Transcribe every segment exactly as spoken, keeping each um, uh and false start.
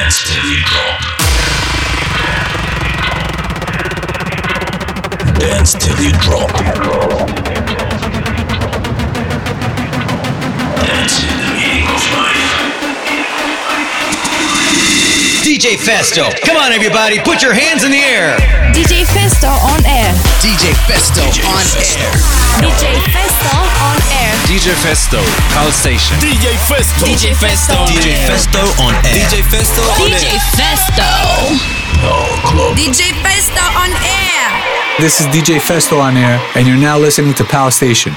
Dance till you drop. Dance till you drop. Dance in the meaning of life. D J Festo, come on everybody, put your hands in the air. D J Festo on air. D J Festo D J on Festo. air. D J Festo on air. D J Festo, Pulse Station. D J Festo. D J Festo. D J Festo on air. D J Festo on air. D J Festo. D J Festo on air. This is D J Festo on air, and you're now listening to Pal Station.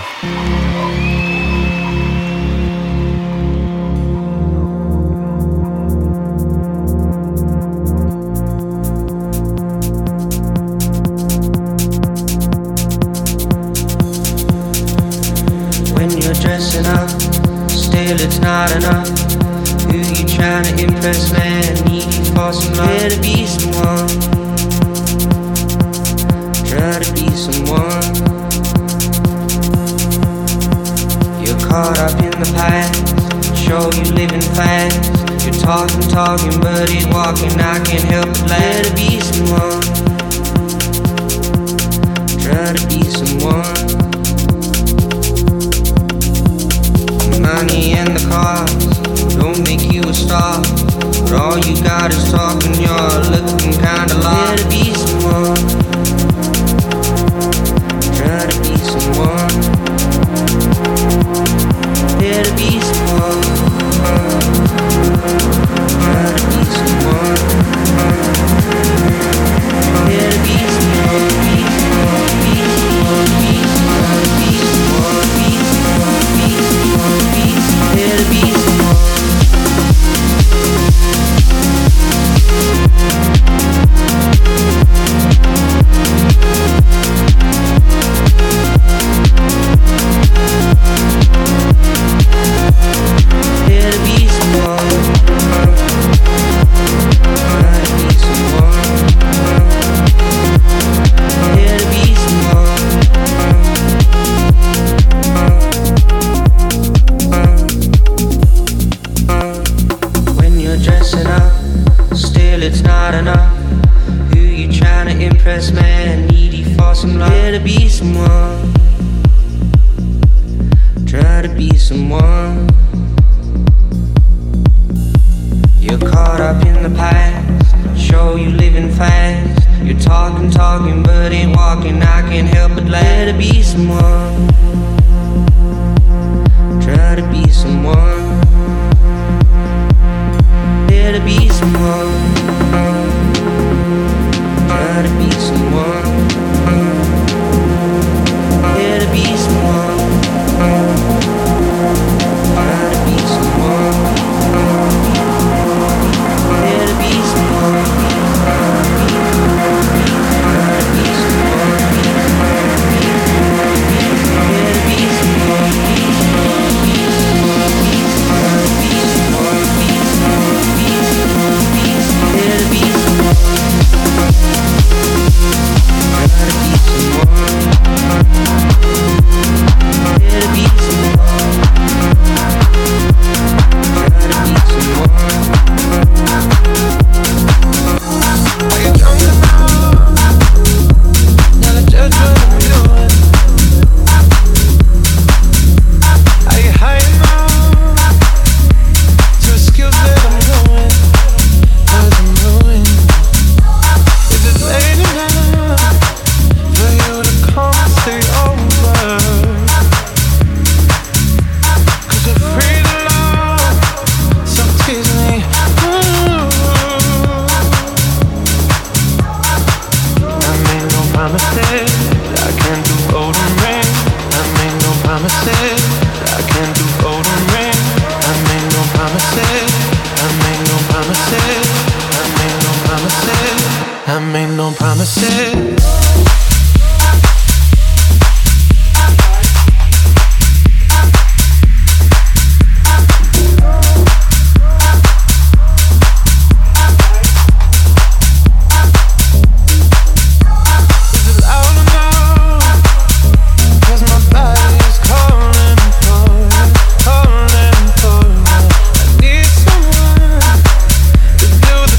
When you're dressing up, still it's not enough. Who you trying to impress, man? Need you for some love. Try to be someone. Try to be someone. You're caught up in the past. Show you living fast. You're talking, talking, but ain't walking. I can't help but laugh. Try to be someone. Try to be someone. Money and the cars don't make you a star, but all you got is talking. You're looking kinda lost. Try to be someone. Try to be someone. Try to be someone. Try to be someone. Try to be someone. Be someone. Be someone. Be someone. Be someone. Be someone. Be someone. Here to be someone. Here to be someone. Try to be someone. Here to be someone. When you're dressing up, still it's not enough. Who you trying to impress, man? Needy for some love. Try to be someone. Try to be someone. You're caught up in the past. Show you living fast. You're talking, talking, but ain't walking. I can't help but laugh. Try to be someone. Try to be someone. Try to be someone. Try to be someone. Try to be someone. Try to be someone. Try to be someone. Try to be someone. Try to be someone. Do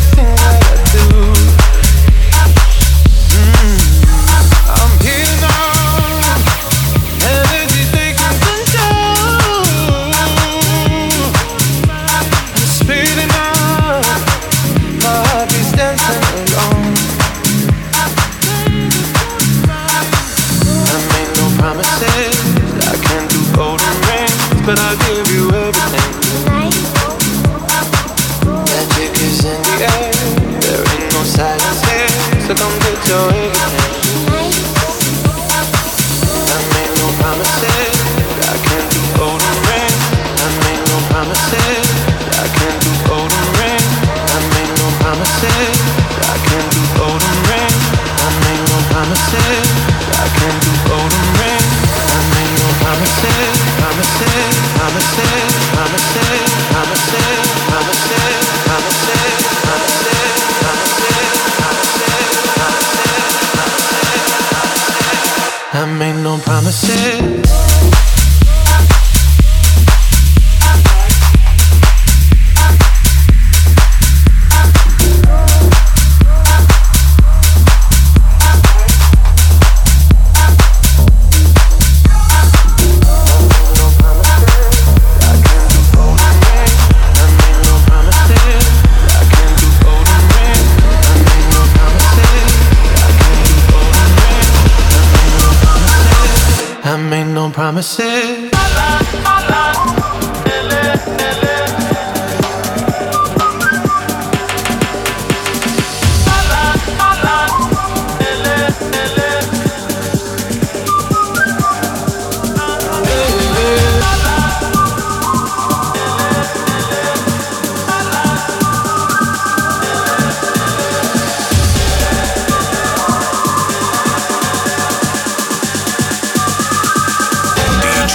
your invitation. I made no promises, I can't do golden ring. I made no promises, I can't do golden ring. I made no promises, I can't do golden ring. I made no promises, I can't do golden ring. I made no promises, promises, promises, promises, promises, promises, promises, promises, promises. I made no promises. I made no promises. D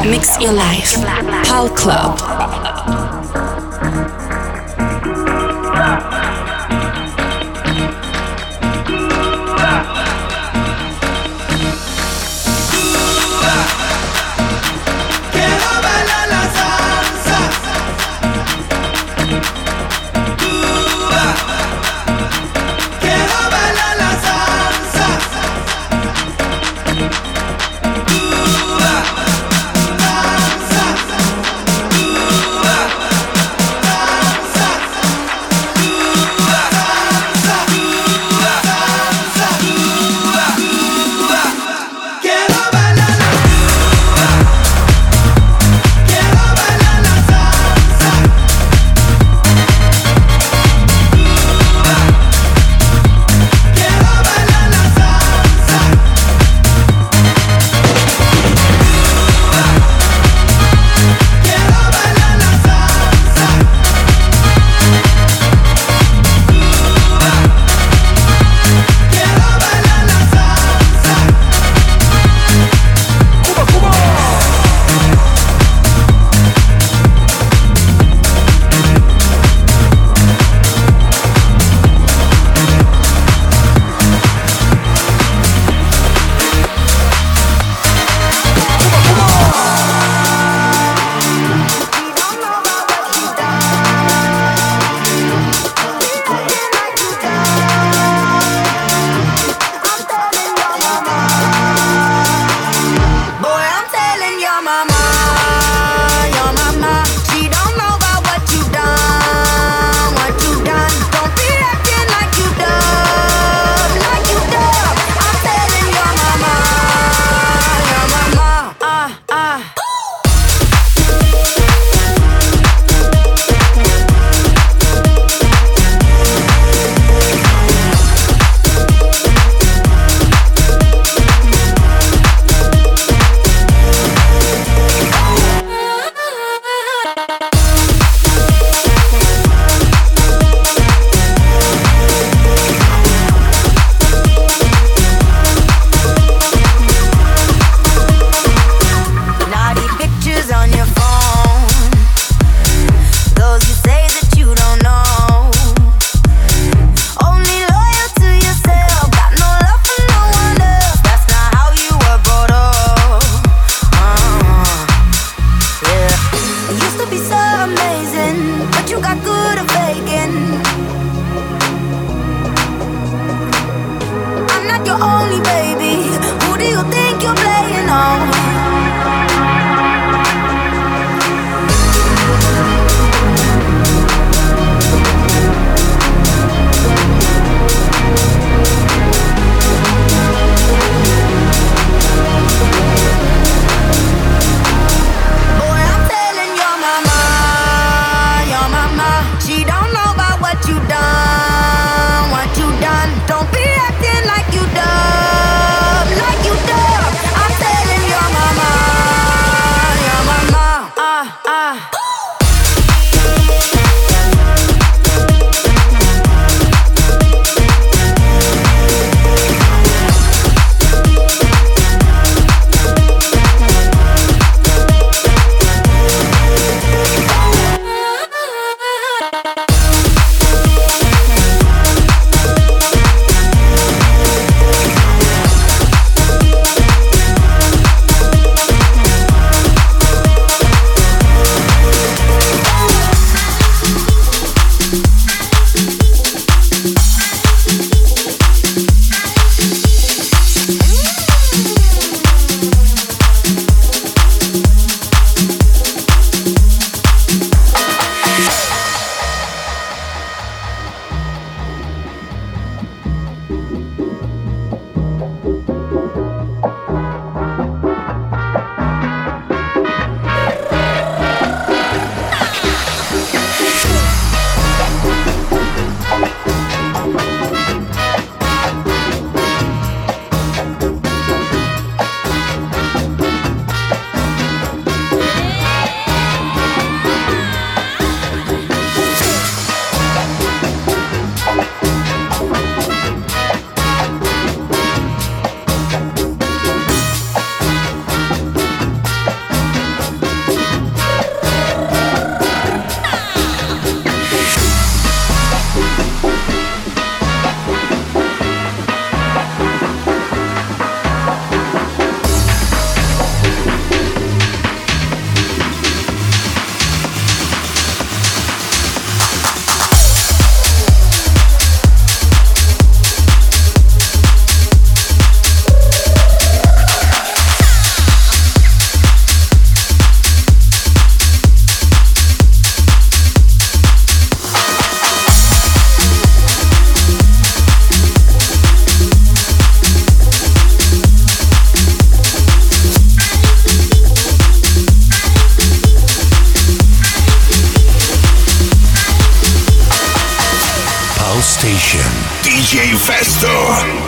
Mix your life. Pal Club. Ooh, ah, Station. D J Festo.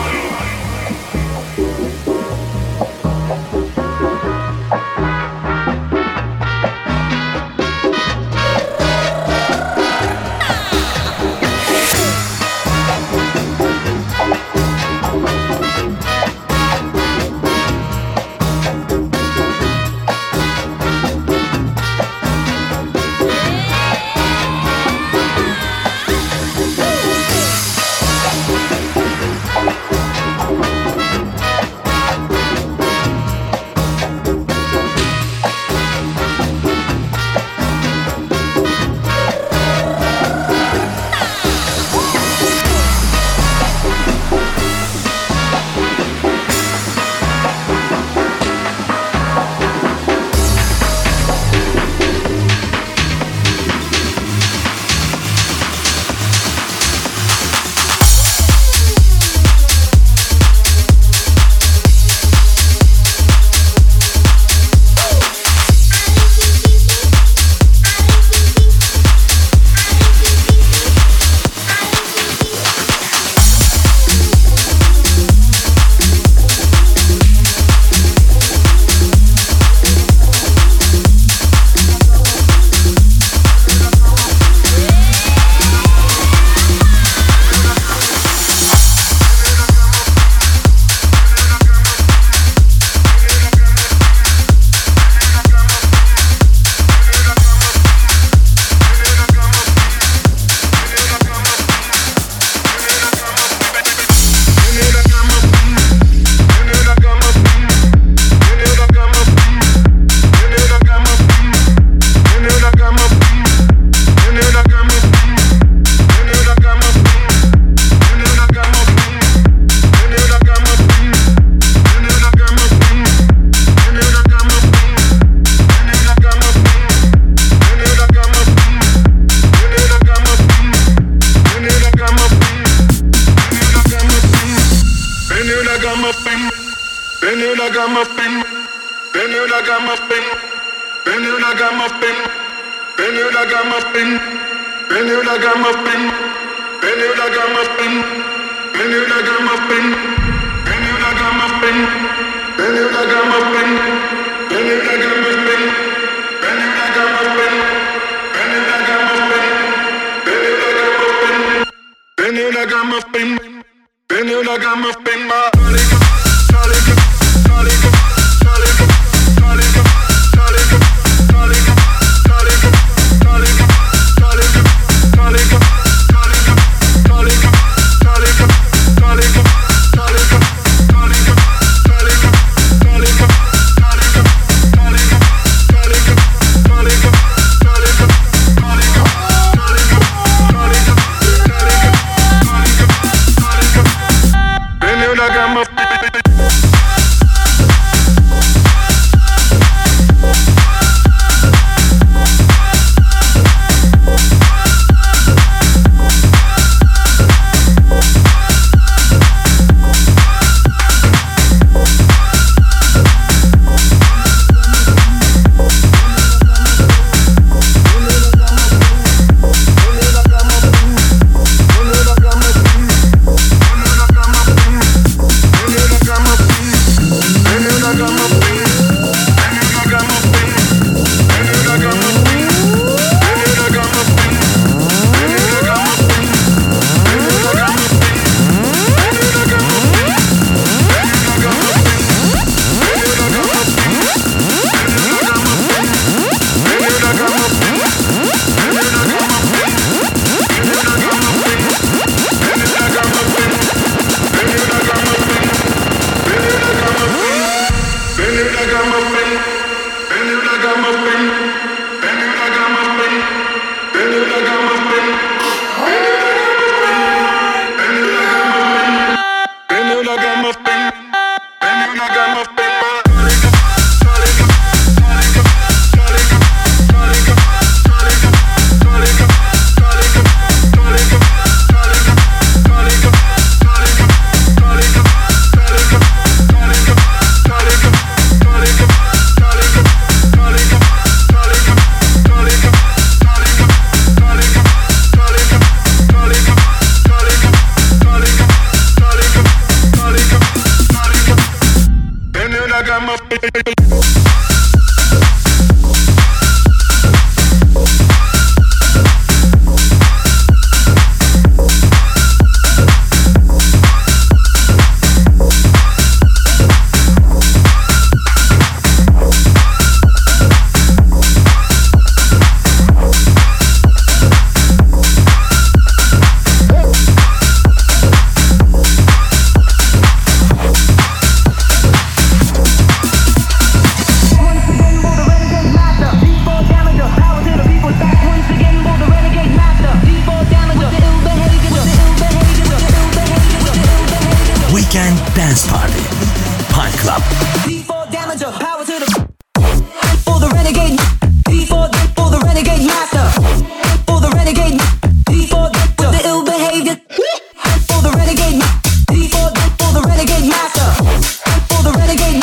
Weekend Dance Party. Pine Club. D four Damager, power to the for the renegade. D four for the renegade master. For the renegade. D four for the ill behavior. For the renegade. D four for the renegade master. For the renegade.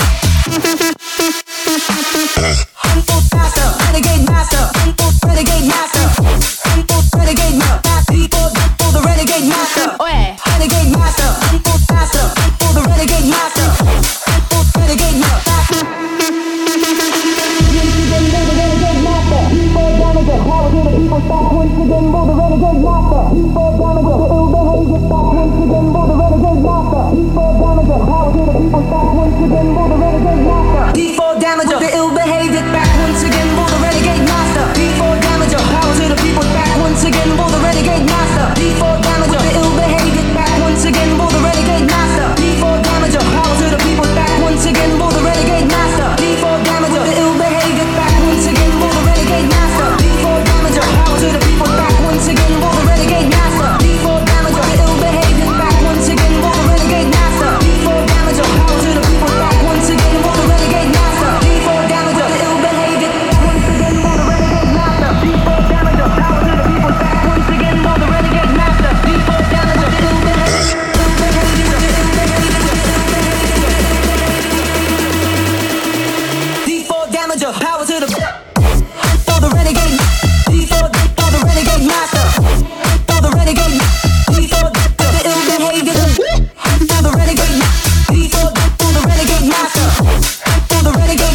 For master, renegade master. For renegade master. For renegade master. D four for the renegade master. Renegade master. For master. For the renegade master. For renegade master. D four Damager, the ill behavior back once again for the renegade master. D four Damager, power to the people back once again for the renegade master. D four Damager, the ill behavior back once again for the renegade master. D four Damager, power to the people back once again for the renegade master. D four Damager, the ill behavior back once again for the renegade master. D four Damager, power to the people back once again for the renegade master. D four Damager, the ill behavior back once again for the renegade master. D four Damager, power to the people back once again for the renegade master. D four Damager, the ill behavior once again for the renegade master. D four Damager, power to the people back once again for the renegade master. D four Damager, the ill behavior. D four Damager, power to the for the renegade. D four for the renegade master. For the renegade. D four for the ill behavior. For the renegade. D four for the renegade master. For the renegade.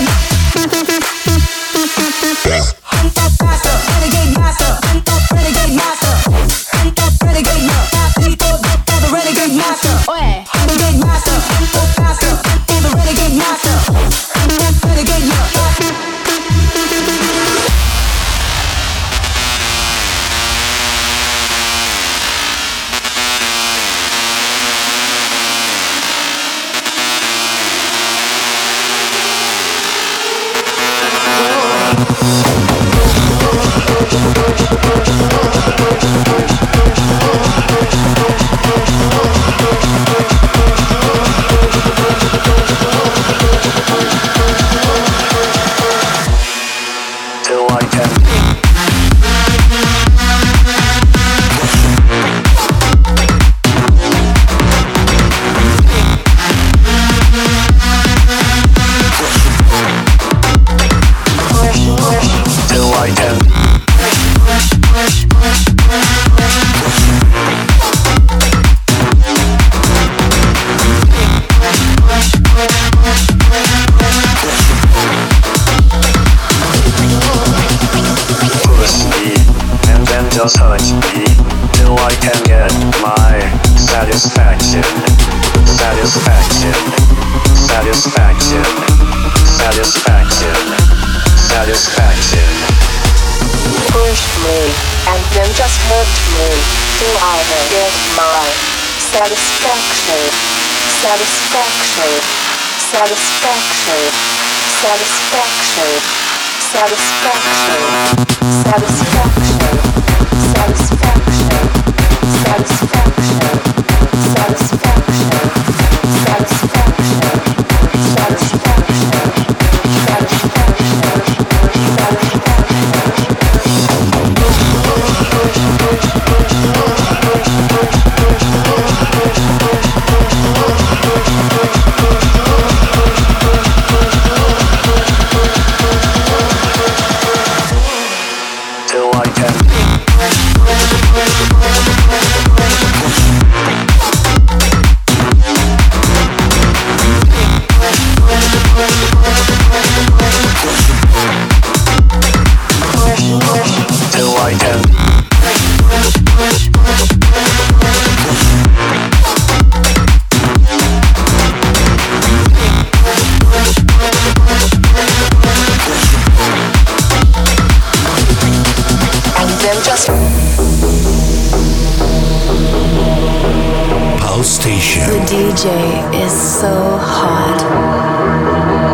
Master, renegade master. Renegade master. Renegade master. D four for the renegade master. Renegade master. Master for the renegade master. Renegade master. Till I can. Till I can. Push me, and then just touch me, till I can get my satisfaction. Satisfaction. Satisfaction. Satisfaction. Satisfaction. Push me, and then just hurt me, till I get my satisfaction. Satisfaction. Satisfaction. Satisfaction. Satisfaction. Satisfaction. Satisfaction. Satisfaction. Satisfaction. Satisfaction. Till I can. Till I can. And then just Pulse Station. The D J is so hot.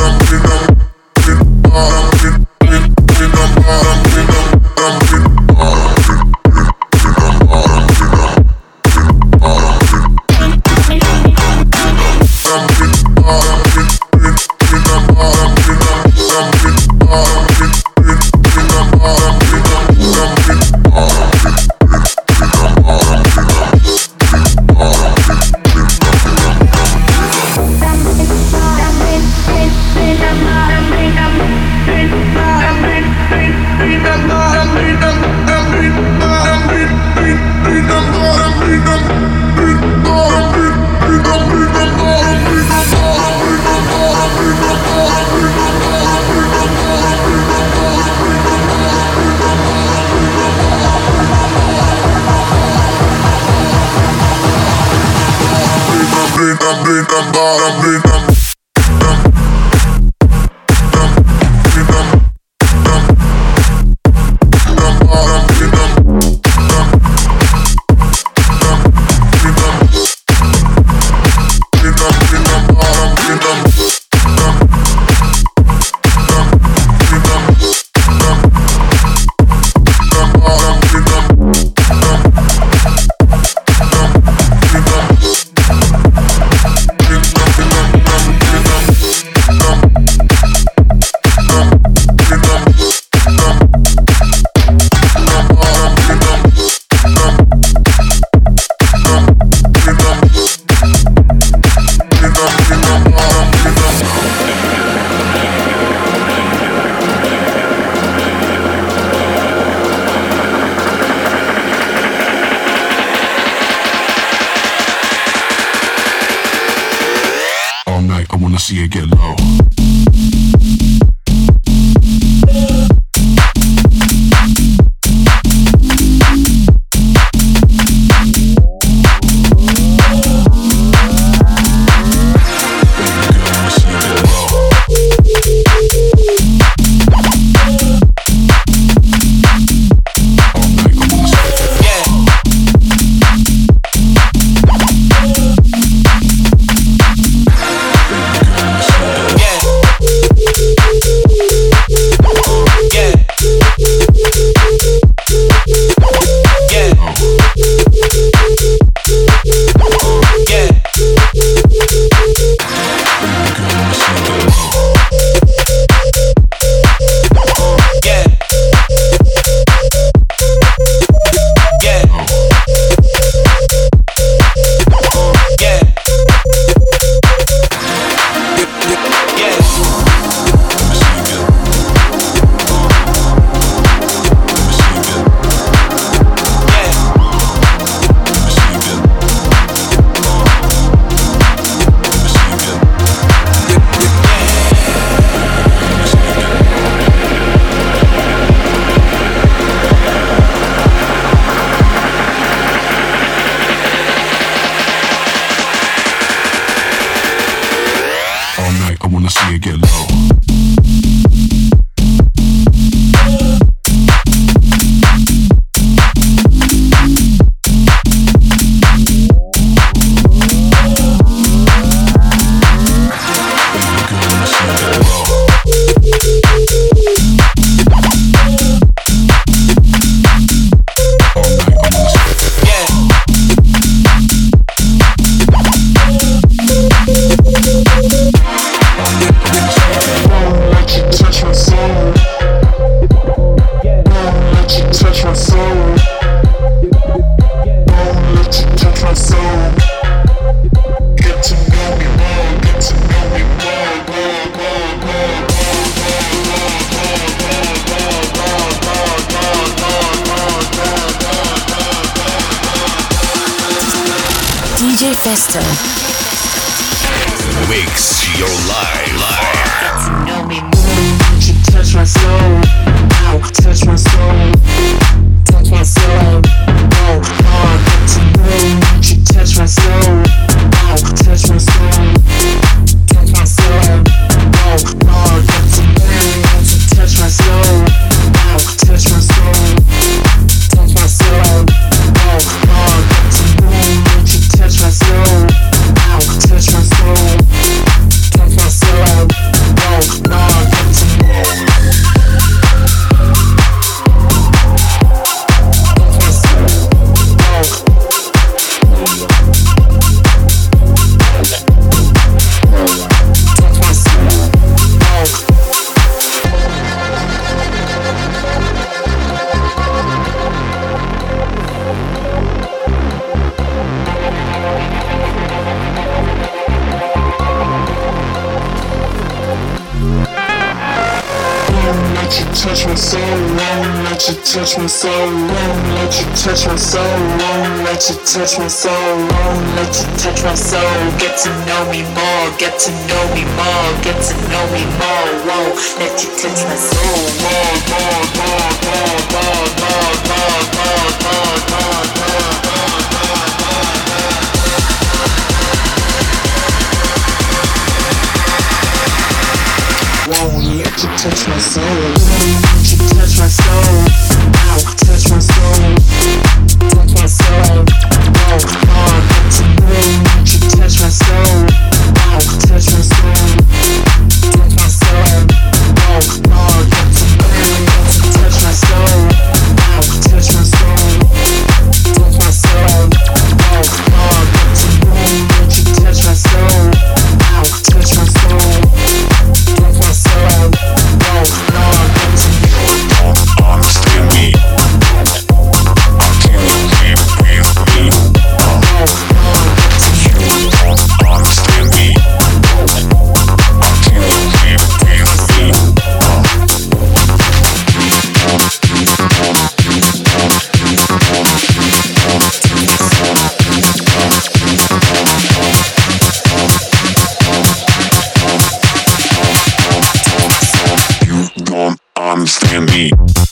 See it get low. D J Festo makes your life. Get to know me more. She touch my soul. Ow, touch my soul. Touch my soul. Oh, oh, get to know. She touch my soul. Ow, touch my soul. Touch my soul. Oh, oh, get to know. She touch my soul. Ow, touch my soul. Touch my soul. Oh, oh, get to know. She touch my soul. Ow, touch my soul. Touch my soul. touch my soul, won't let you touch my soul, won't let you touch my soul, won't let you touch my soul, won't let you touch my soul. Get to know me more, get to know me more, get to know me more, won't let you touch my soul, more, more, more, more, more, more, more, more, more, more, more. Won't let you touch my soul. Won't you touch my soul? Ow, touch my soul. Touch my soul. Won't oh, get to know. Won't you touch my soul? Ow, touch my soul. Touch my soul. Won't oh, get to know. Won't you touch my soul? Ow, touch my soul. Touch my soul. Won't oh, get to know. Won't you touch my soul? Ow, touch my soul. My soul, no, no, don't understand me. Can you live with me? No, no, you don't understand me. Can you live with me? Understand me.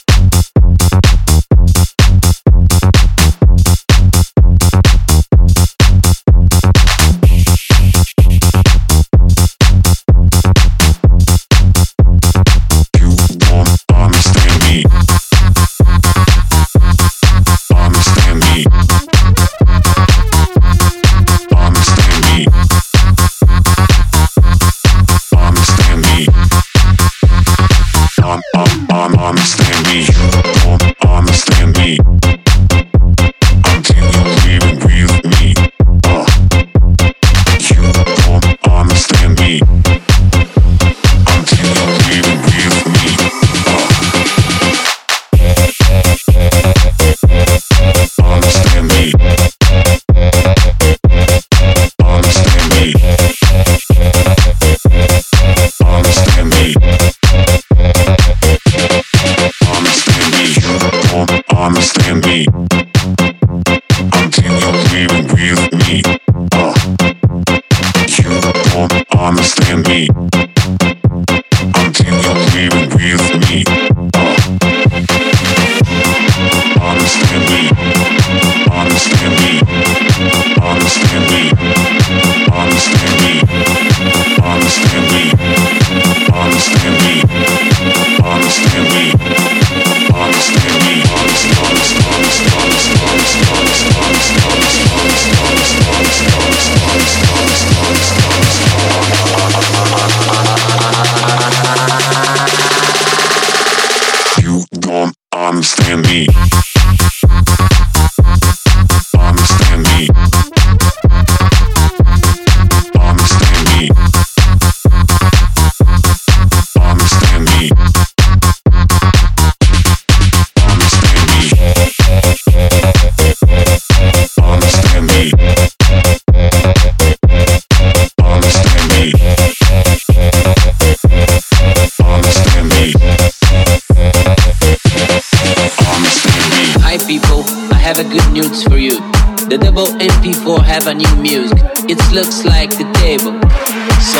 The double M P four have a new music. It looks like the table. So,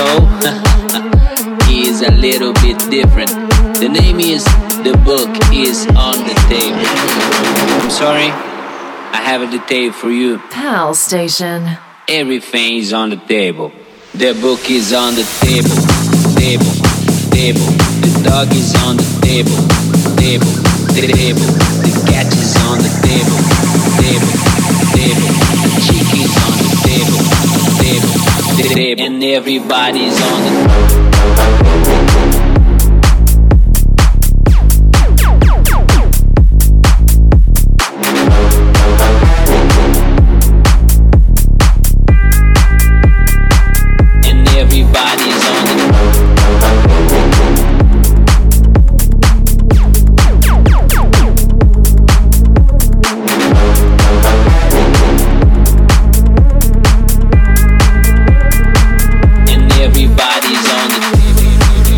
is a little bit different. The name is The Book is on the Table. I'm sorry, I have a detail for you. Pal Station. Everything is on the table. The book is on the table. Table, table. The dog is on the table. Table, table. The cat is on the table. Table, table. The chick is on the table. Table, table. And everybody's on the everybody's on the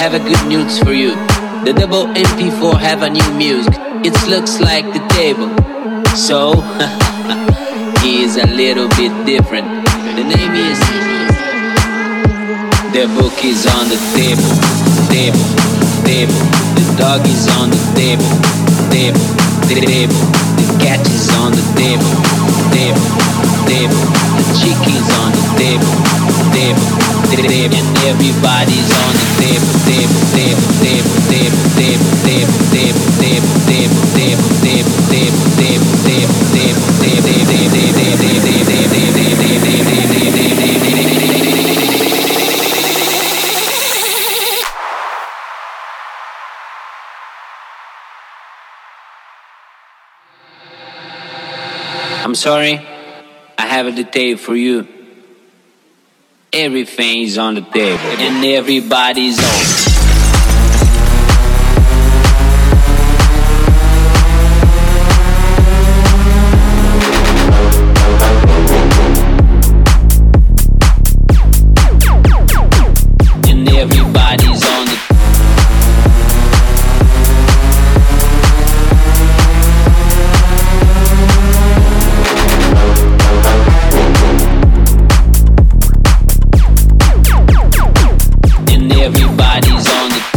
have a good news for you. The double M P four have a new music. It looks like the table. So, he is a little bit different. The name is The book is on the table, table, table. The dog is on the table, table, table. The cat is on the table, table, table. The chicken's on the table, table, table. And everybody's on the table, table, table, table, table, table, table, table, table, table, table, table, table, table, table, table, I'm sorry, I have a detail for you. Everything's on the table and everybody's on. Everybody's on the and everybody's on the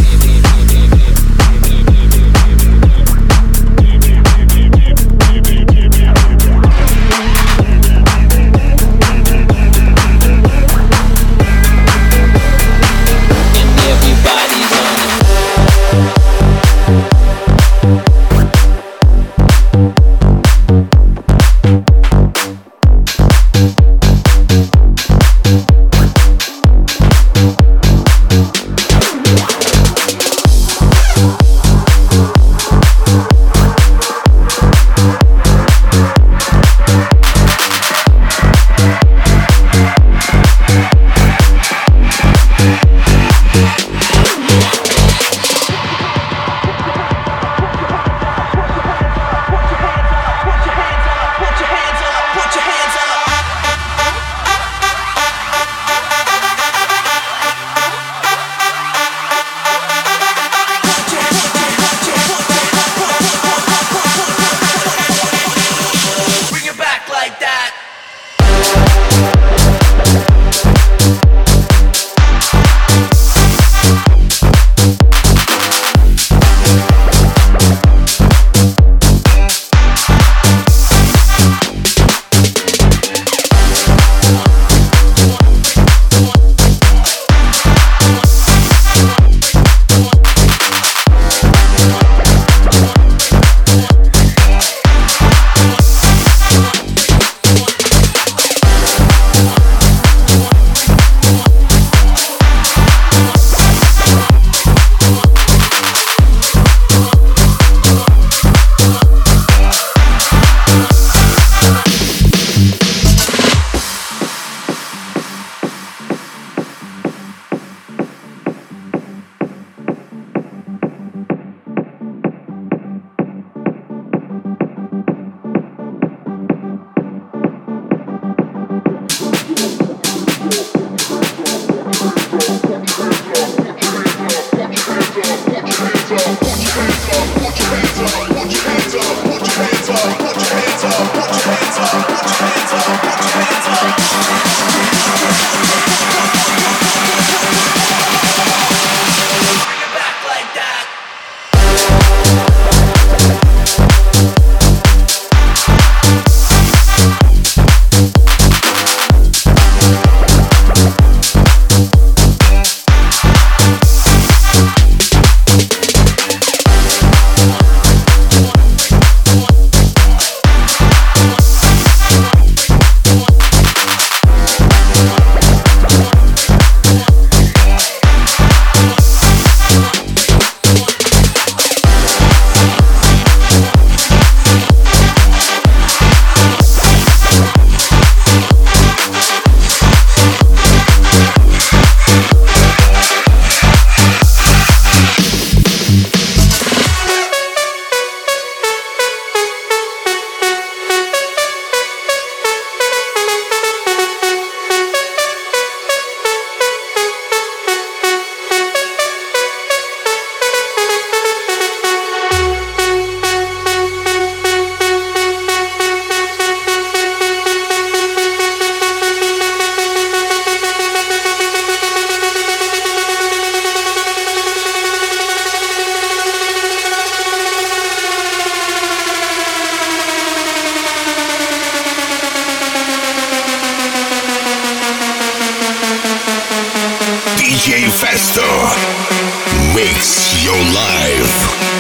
J Festo. Mix your life.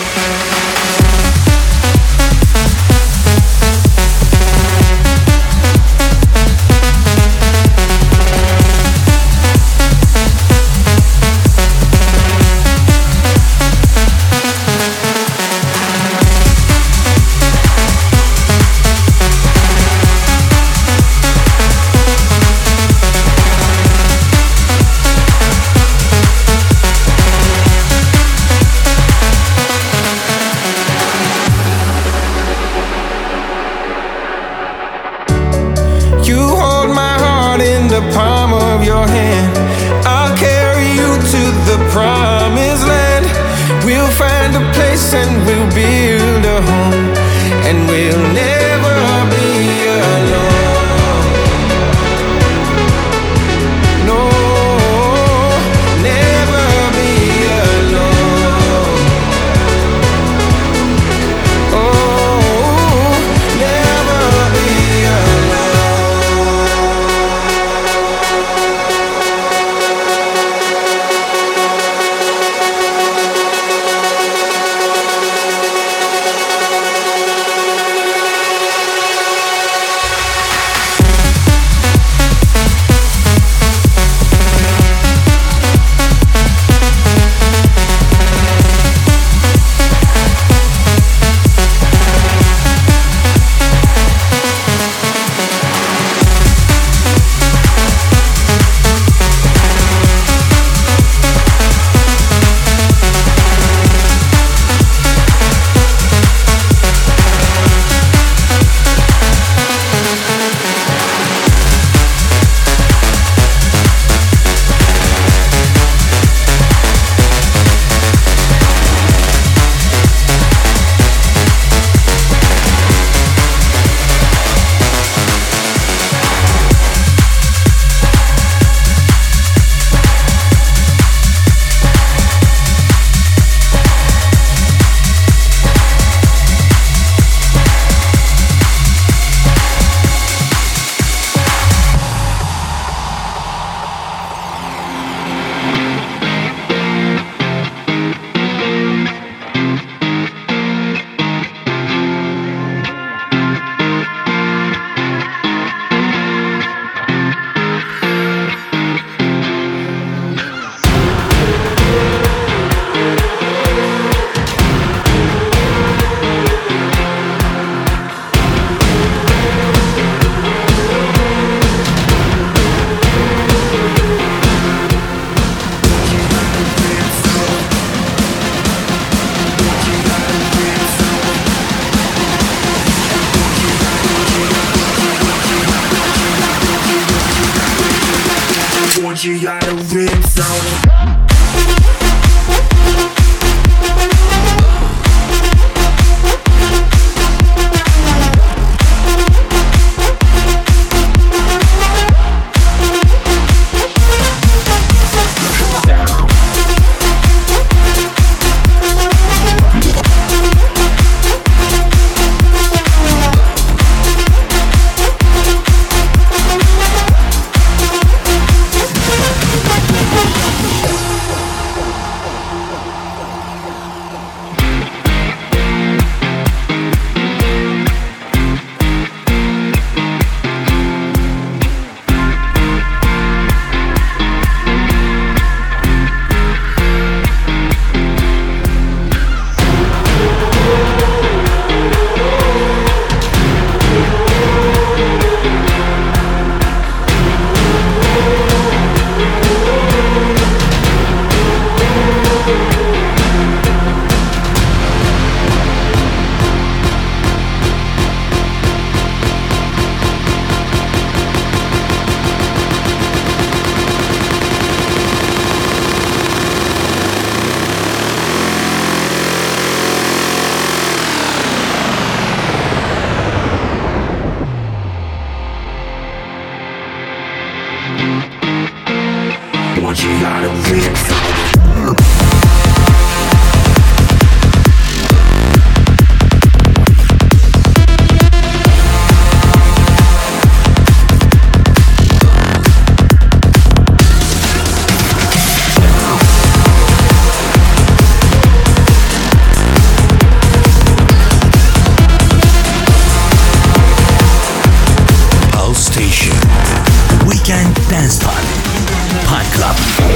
Palm of your hand, I'll carry you to the promised land. We'll find a place and we'll build a home, and we'll never be alone. No, never be alone. Oh, never be alone. You got a rim zone. Want you got a rim zone. Station. Weekend Dance Party. Pal Club.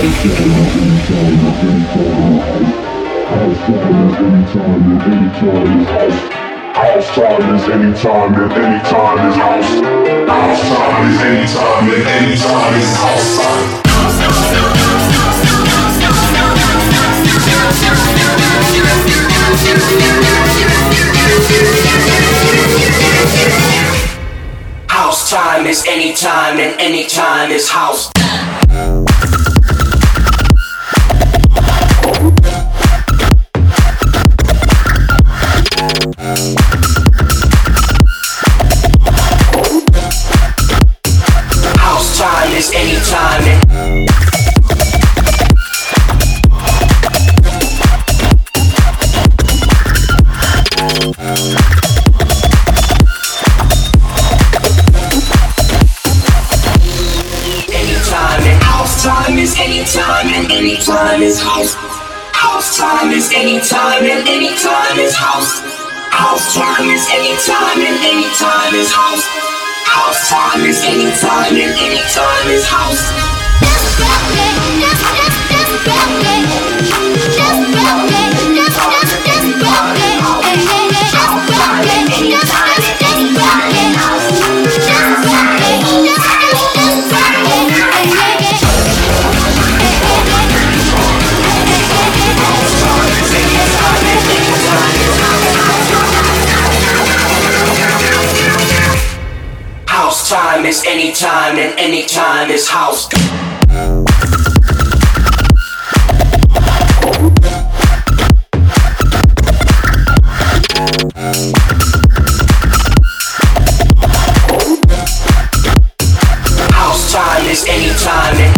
House time is anytime and anytime is house. House time is anytime and anytime is house time. House time is anytime and anytime is house. House time is anytime and time is anytime and anytime is house. House time is anytime and anytime is house. House time is anytime and anytime is house. House time is anytime and anytime is house. House time is anytime and anytime is house. House time is anytime and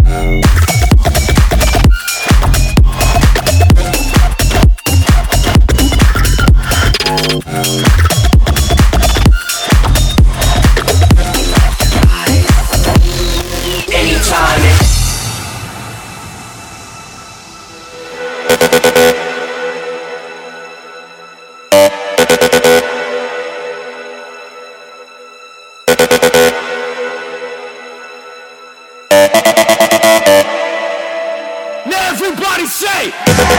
anytime and Now everybody say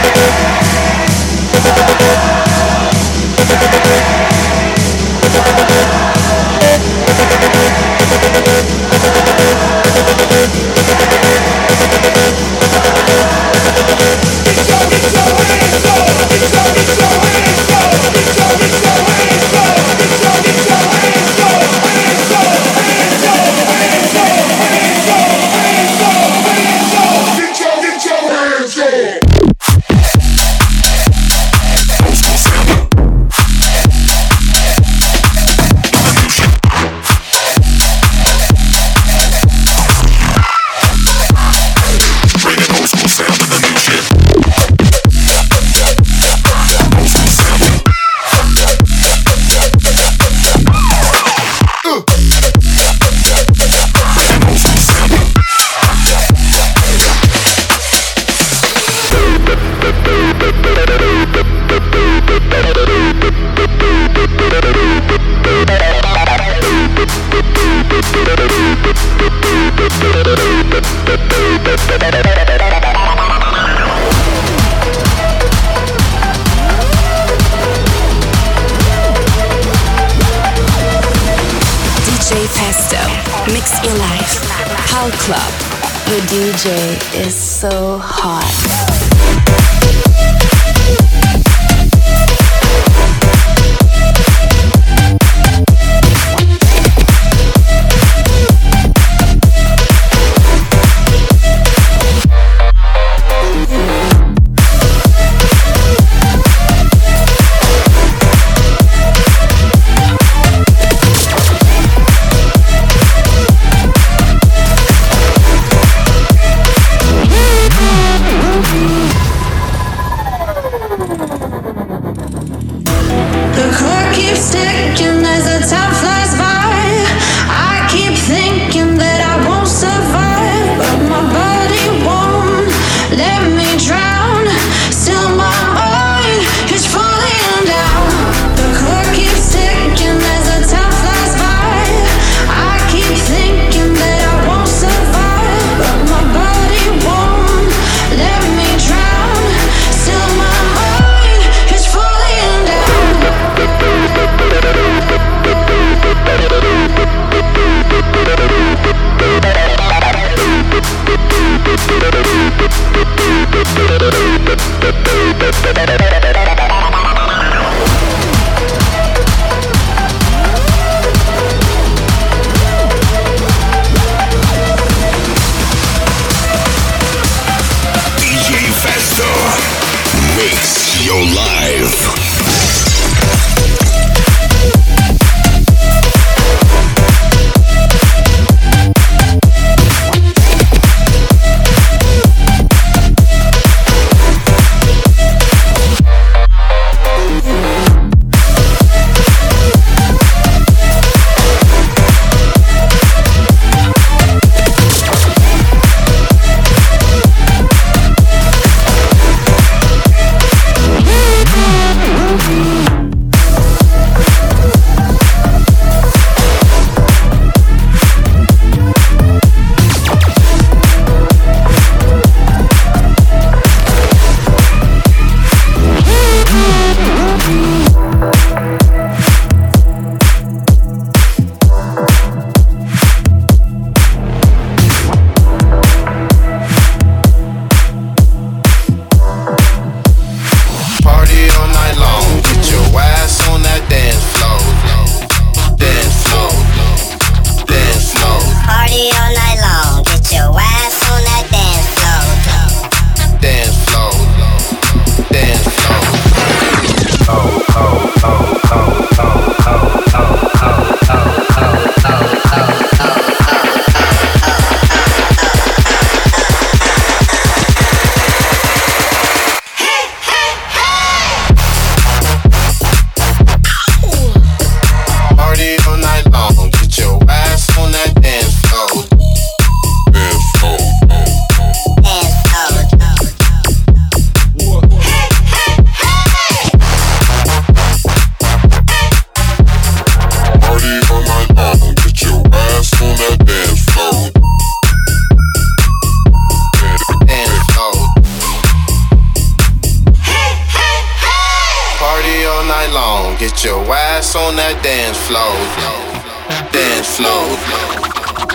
D J Festo, mix your life. Pal Club, your D J is so hot.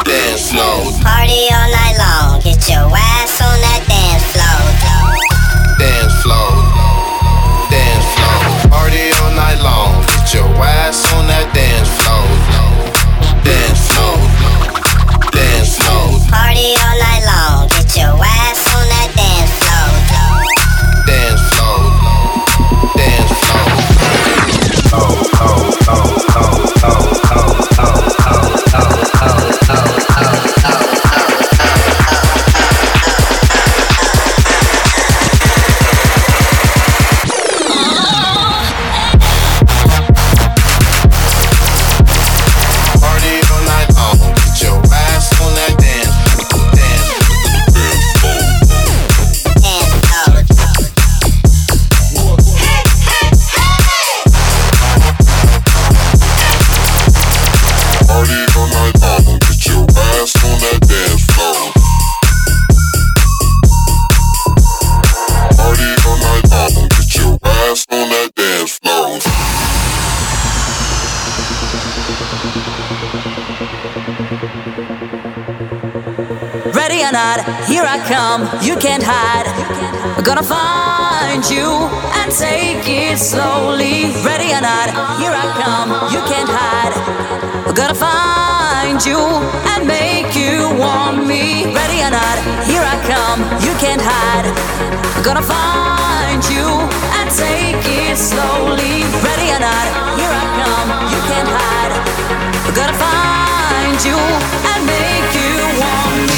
dance floor. Party all night long, get your ass on that dance floor. Dance floor, dance floor. Party all night long, get your ass on that dance floor. Dance floor, dance floor. Party all night long, get your ass on that dance floor. Dance floor, dance floor. Oh, oh, oh, oh, oh, oh, oh, oh, oh, oh, oh, oh, oh. Ready or not, here I come, you can't hide. I'm gonna find you and take it slowly. Ready or not, here I come, you can't hide. I'm gonna find you and make you want me. Ready or not, here I come, you can't hide. I'm gonna find you and take it slowly. Ready or not, here I come, you can't hide. I'm gonna find you and make you want me.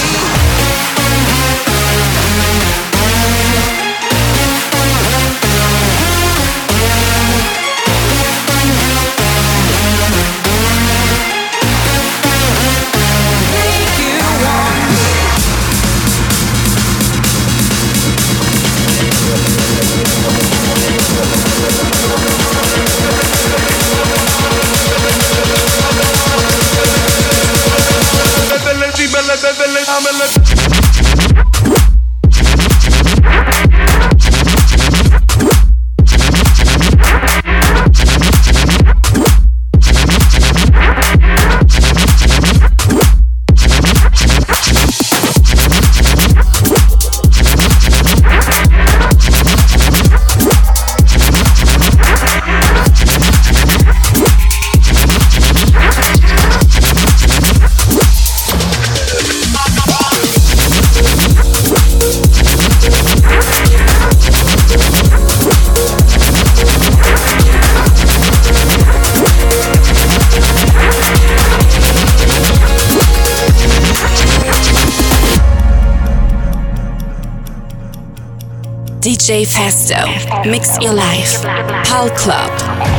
D J Festo, mix your life. Pal Club.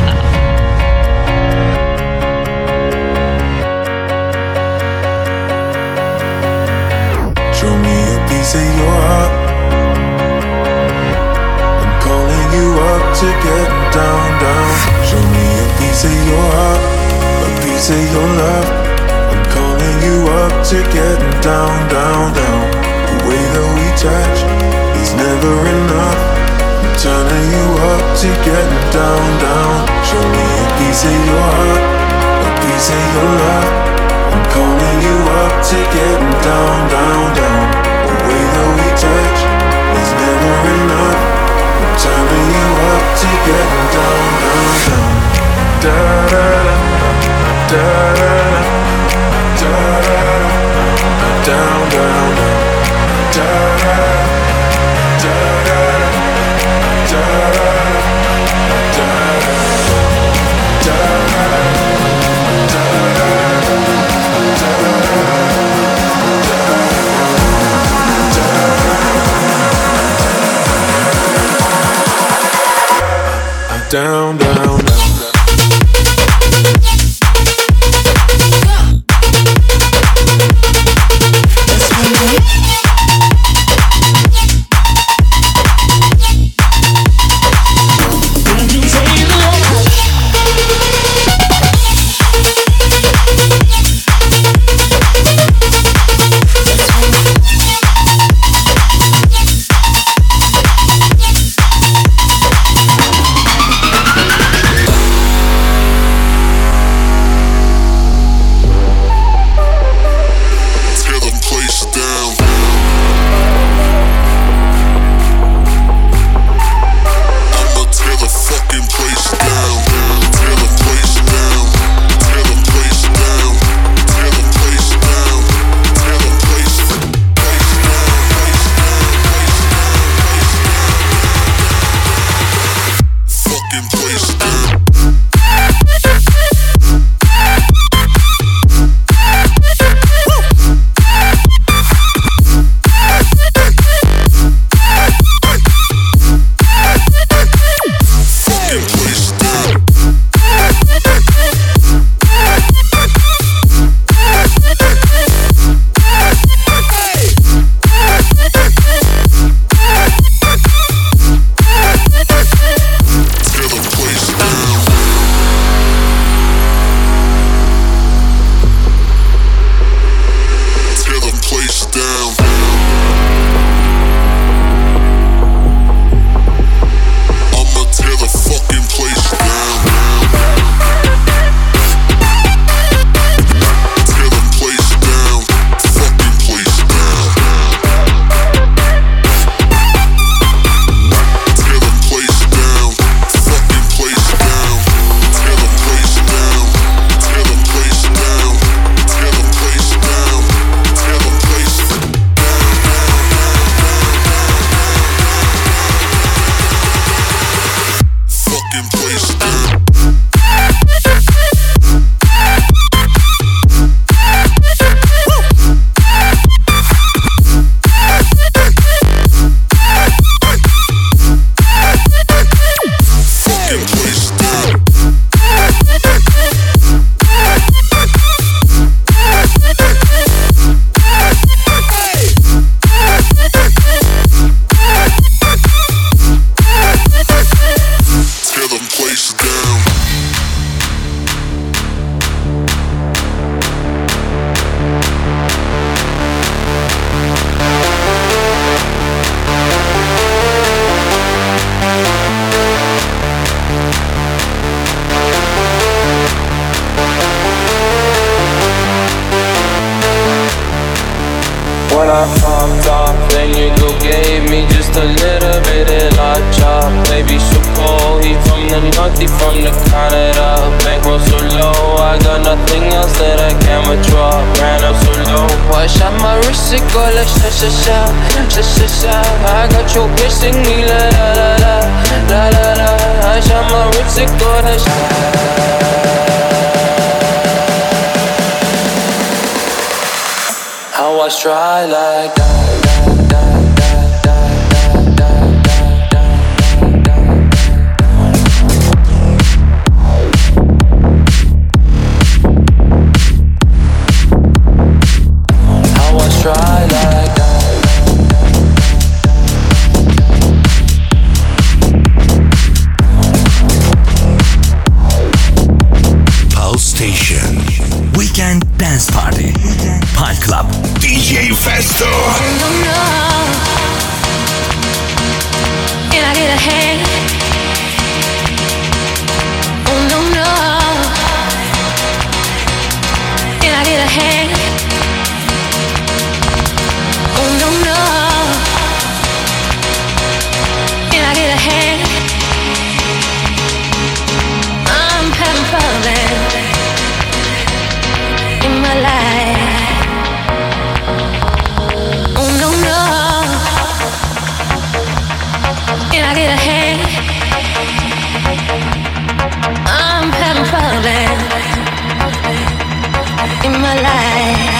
Show me a piece of your heart. I'm calling you up to get down, down. Show me a piece of your heart, a piece of your love. I'm calling you up to get down, down, down. The way that we touch is never enough. I'm turning you up to get down, down. Show me a piece of your heart, a piece of your love. I'm calling you up to get down, down, down. The way that we touch is never enough. I'm turning you up to get down, down, down. Da da da, da da da, da da, down, down, down. Da da da, da da da, da da da, da da da. I popped off, then you go gave me just a little bit of la chop. Baby so cold, he from the north, he from the Canada. Bankroll so low, I got nothing else that I can withdraw. Ran up so low, I shot my wrist, it go like sha sha sha, sha sha sha. I got you kissing me la la la la, la la la. I shot my wrist, it go like sha. How I try like that. Try like that. Pulse Station Weekend Dance Party Pulse Club D J Festo. Oh no no, can I get a hand? Oh no no, can I get a hand? Oh no no, can I get a hand? I'm having fun in my life. Oh no no, can I get a hand? I'm having fun in my life.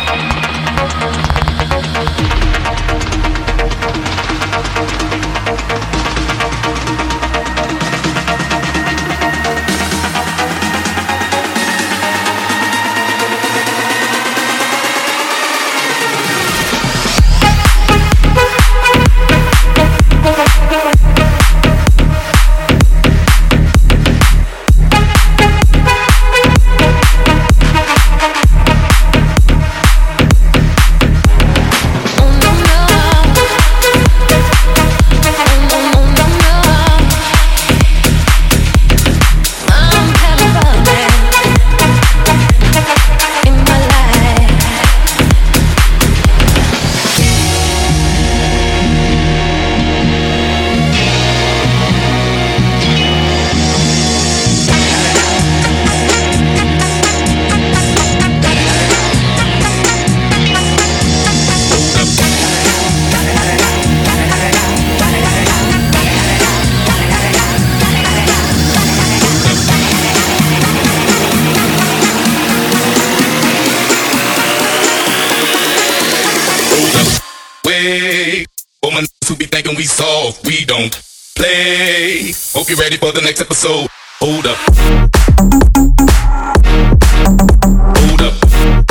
We soft, we don't play. Hope you're ready for the next episode. Hold up. Hold up.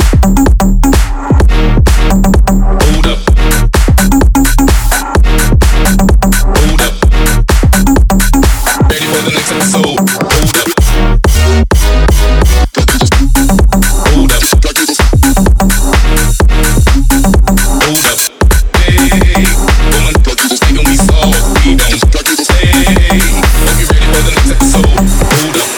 Hold up. Hold up. Ready for the next episode. Hold up. Hold up. Hold up. Hey, woman, thinking we soft, we don't play. Hope you're ready for the next episode. Hold up.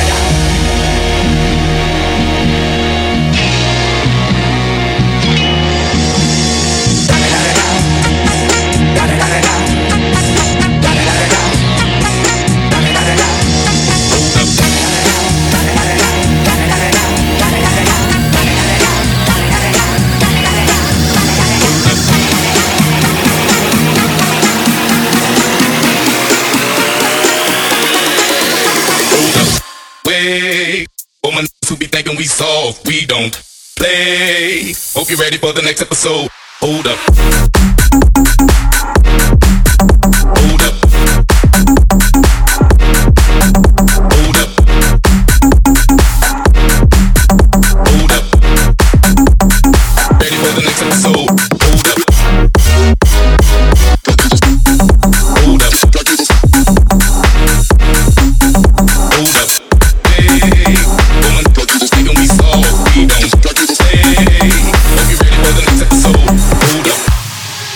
Woman who be thinking we soft, we don't play. Hope you're ready for the next episode. Hold up. Hold up. Hold up. Hold up. Ready for the next episode. Hold up. Hold up. Hold up. Hey, woman, thinking we soft, we don't play. Hope you're ready for the next episode. Hold up.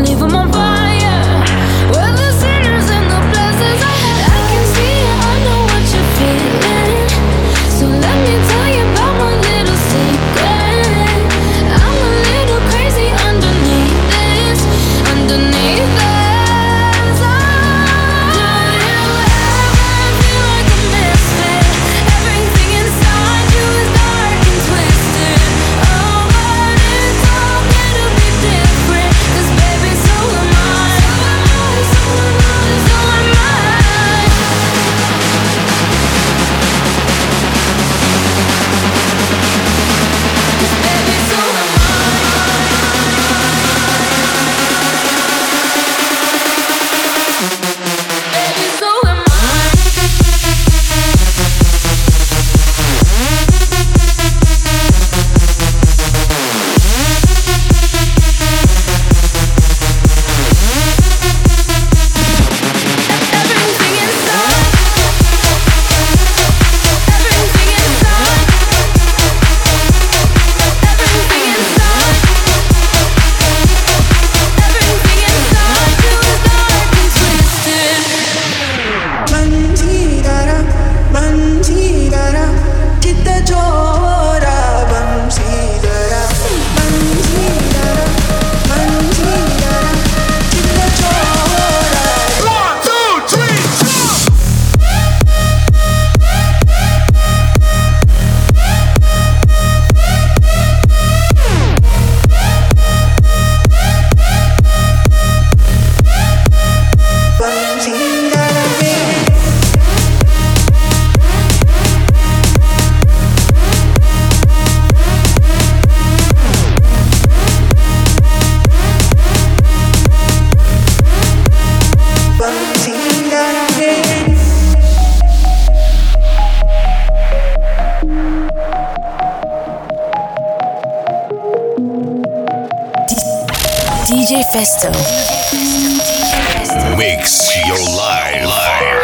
leave them on fire. We're the sinners and the blessings. I can see it, I know what you're feeling. So let me tell you about my little secret. I'm a little crazy underneath this, underneath this. D J Festo. Mix your life. life.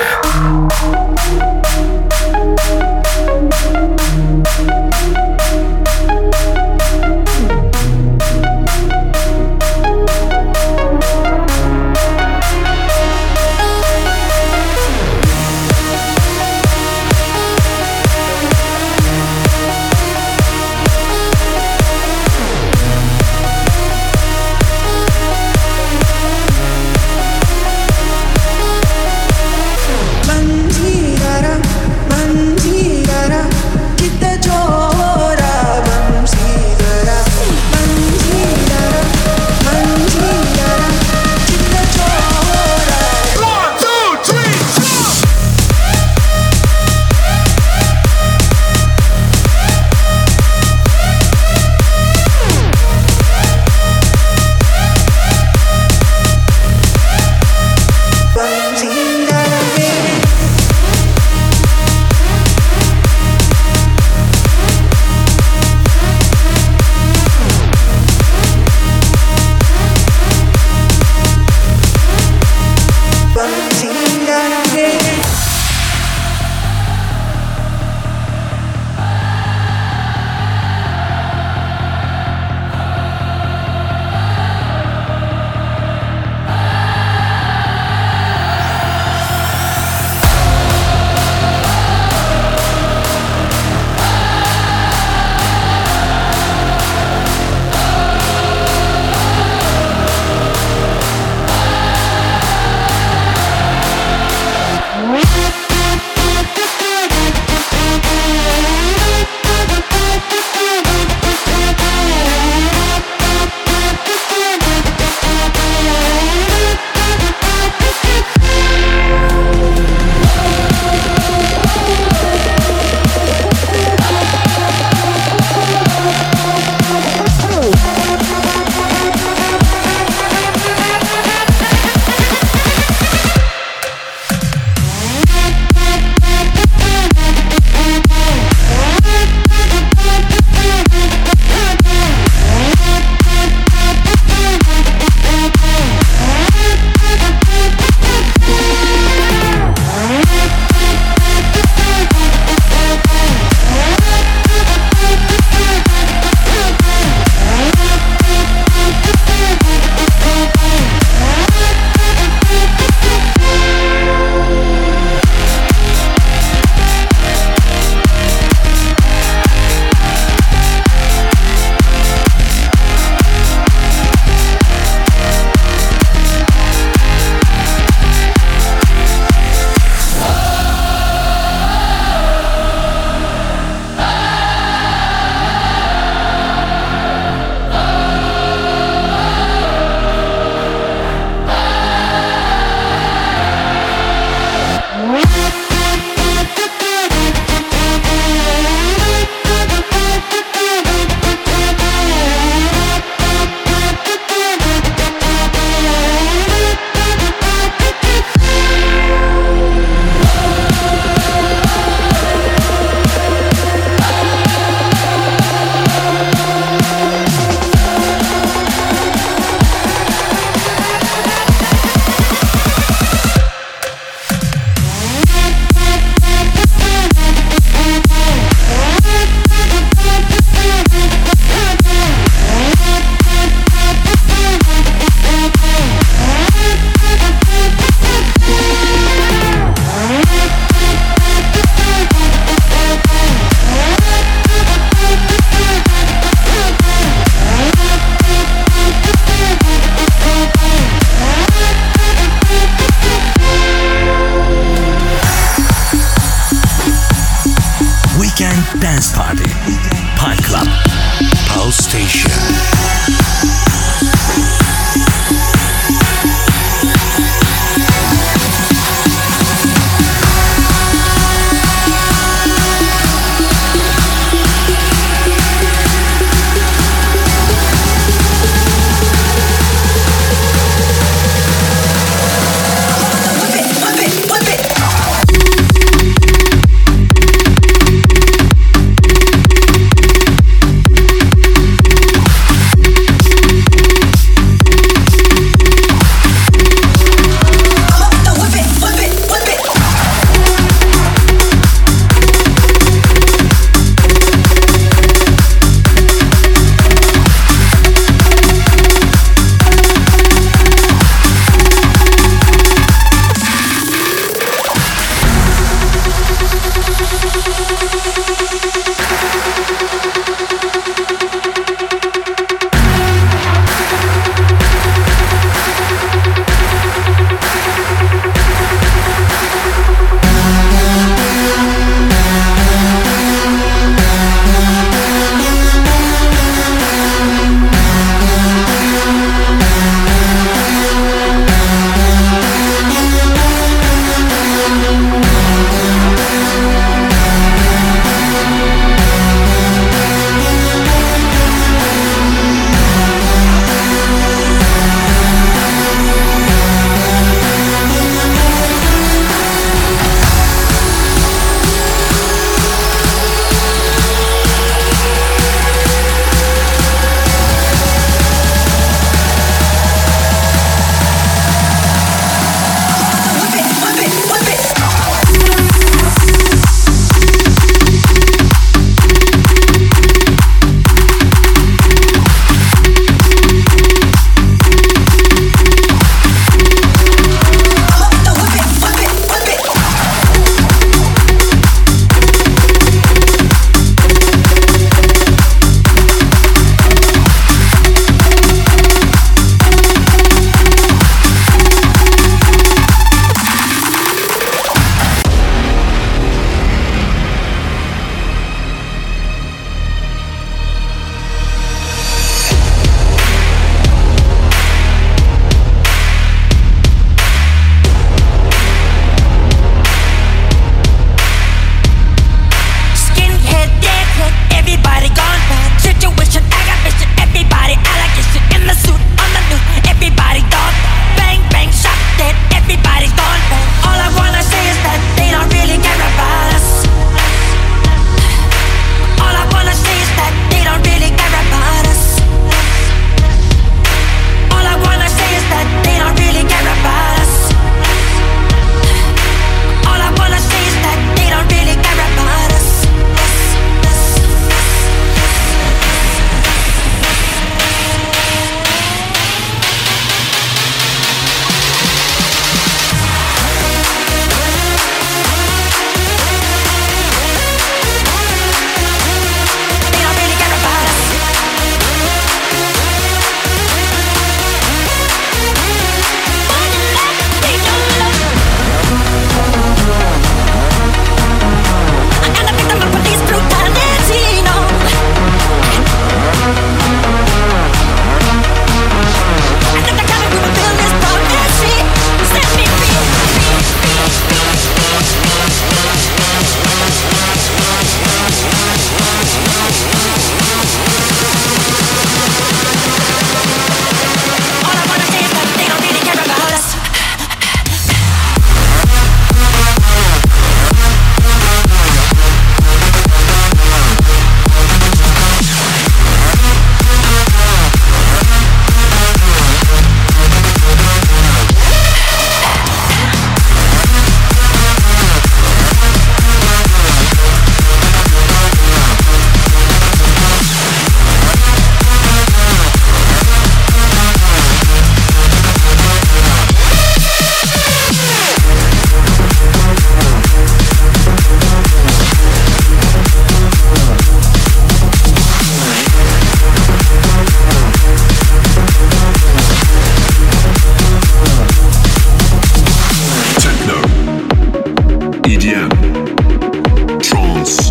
E D M, trance,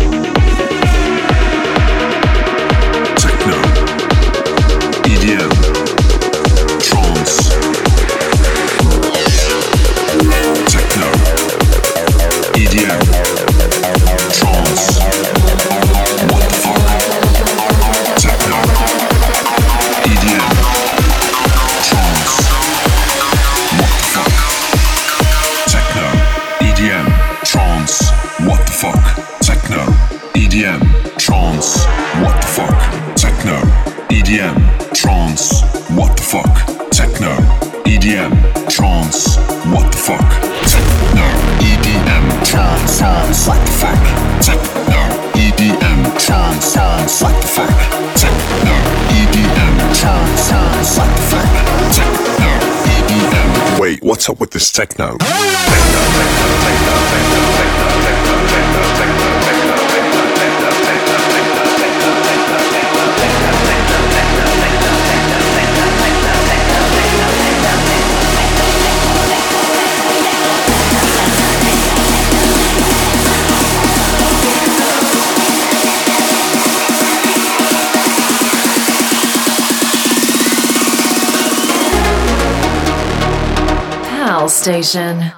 techno, E D M, trance, techno, E D M, trance. What the fuck? Techno, E D M, trance. What the fuck? Techno, E D M, trance. What the fuck? Techno, E D M, trance. What the fuck? Techno, E D M, trance. What the fuck? Techno, E D M, trance. What the fuck? Techno, E D M, trance. Trance. What the fuck? Techno, E D M, trance. Trance. What the fuck? Techno, E D M, trance. Trance. What the fuck? Techno, E D M. Wait, what's up with this techno? Techno, techno, techno, techno, techno, techno, techno, techno, techno, Pal Station.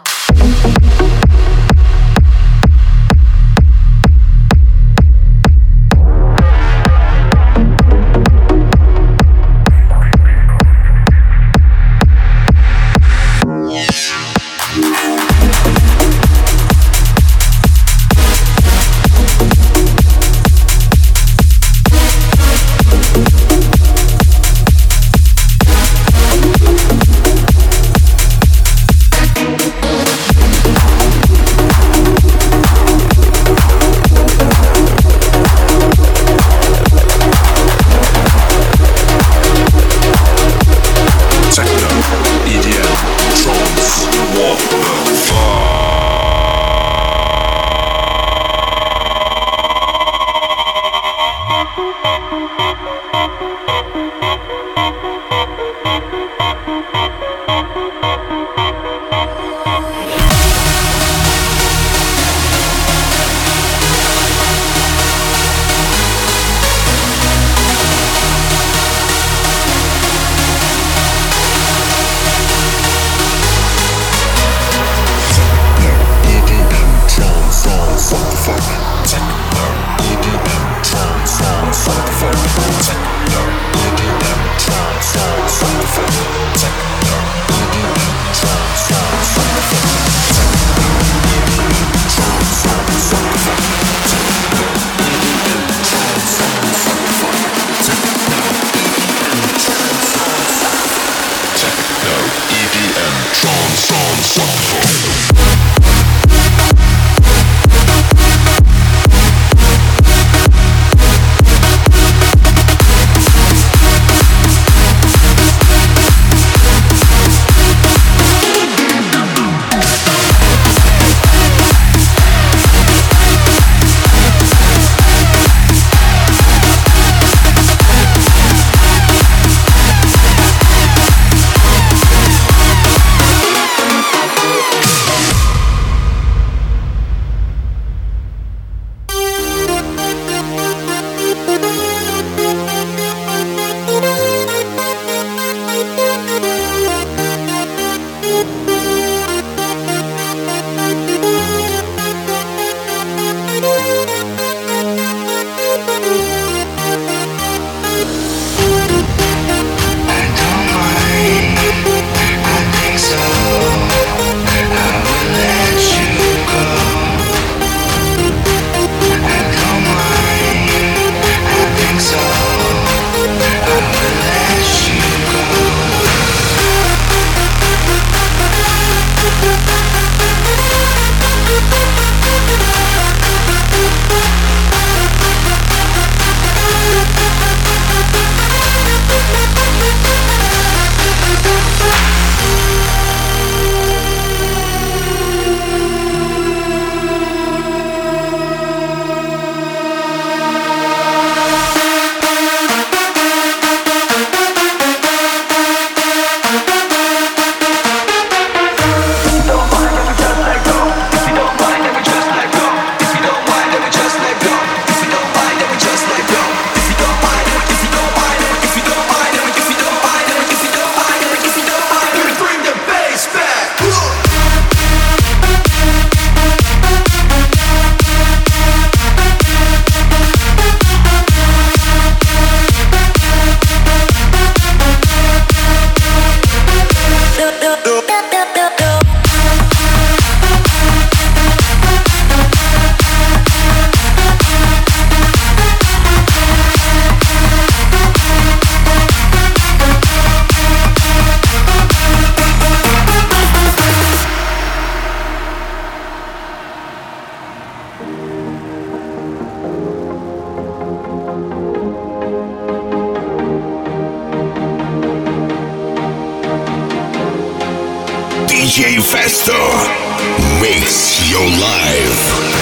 D J Festo makes your life.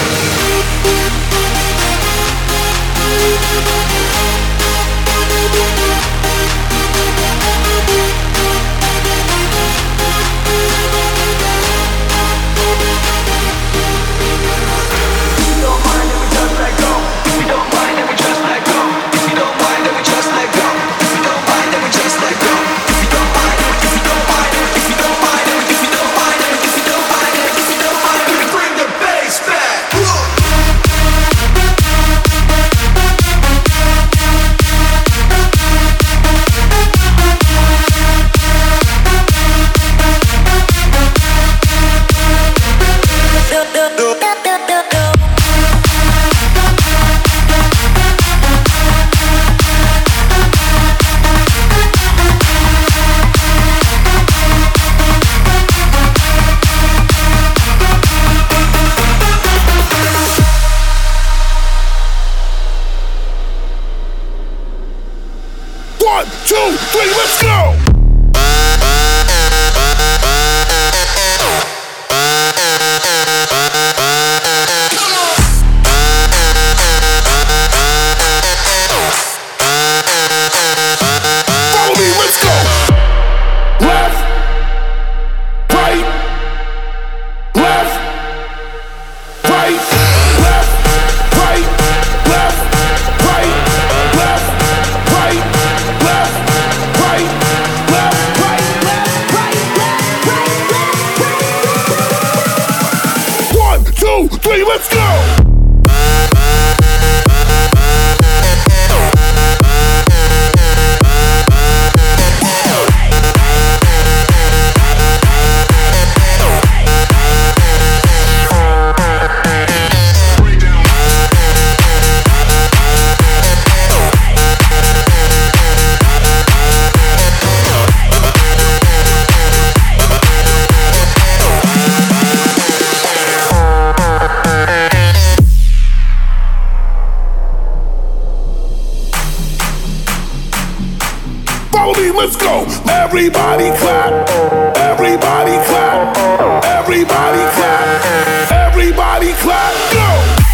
One, two, three, let's go! Follow me, let's go! Left, right, left, right, left, right, left, right, left, right, left, right, left, right, left, right, left, right, left, right. One, two, three, let's go! Follow me, let's go. Everybody clap. Everybody clap. Everybody clap. Everybody clap. Go.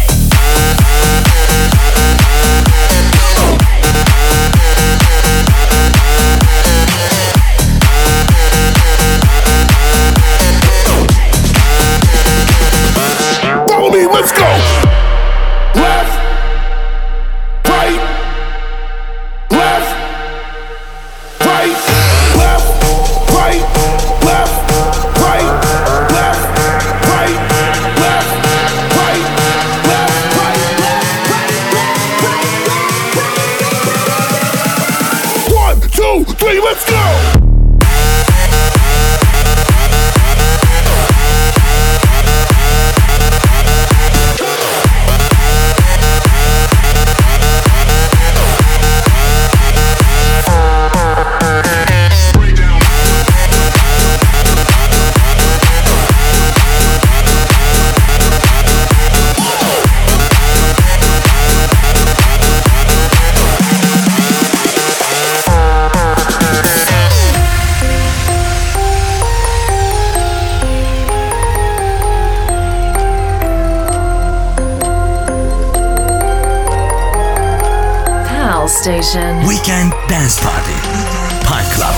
Follow me, let's go. Left. Right. Left. Right, left, right, left, right, left, right, left, right, left, right, left, right, left, right, left. One, two, three, let's go! Station. Weekend Dance Party. Pine Club.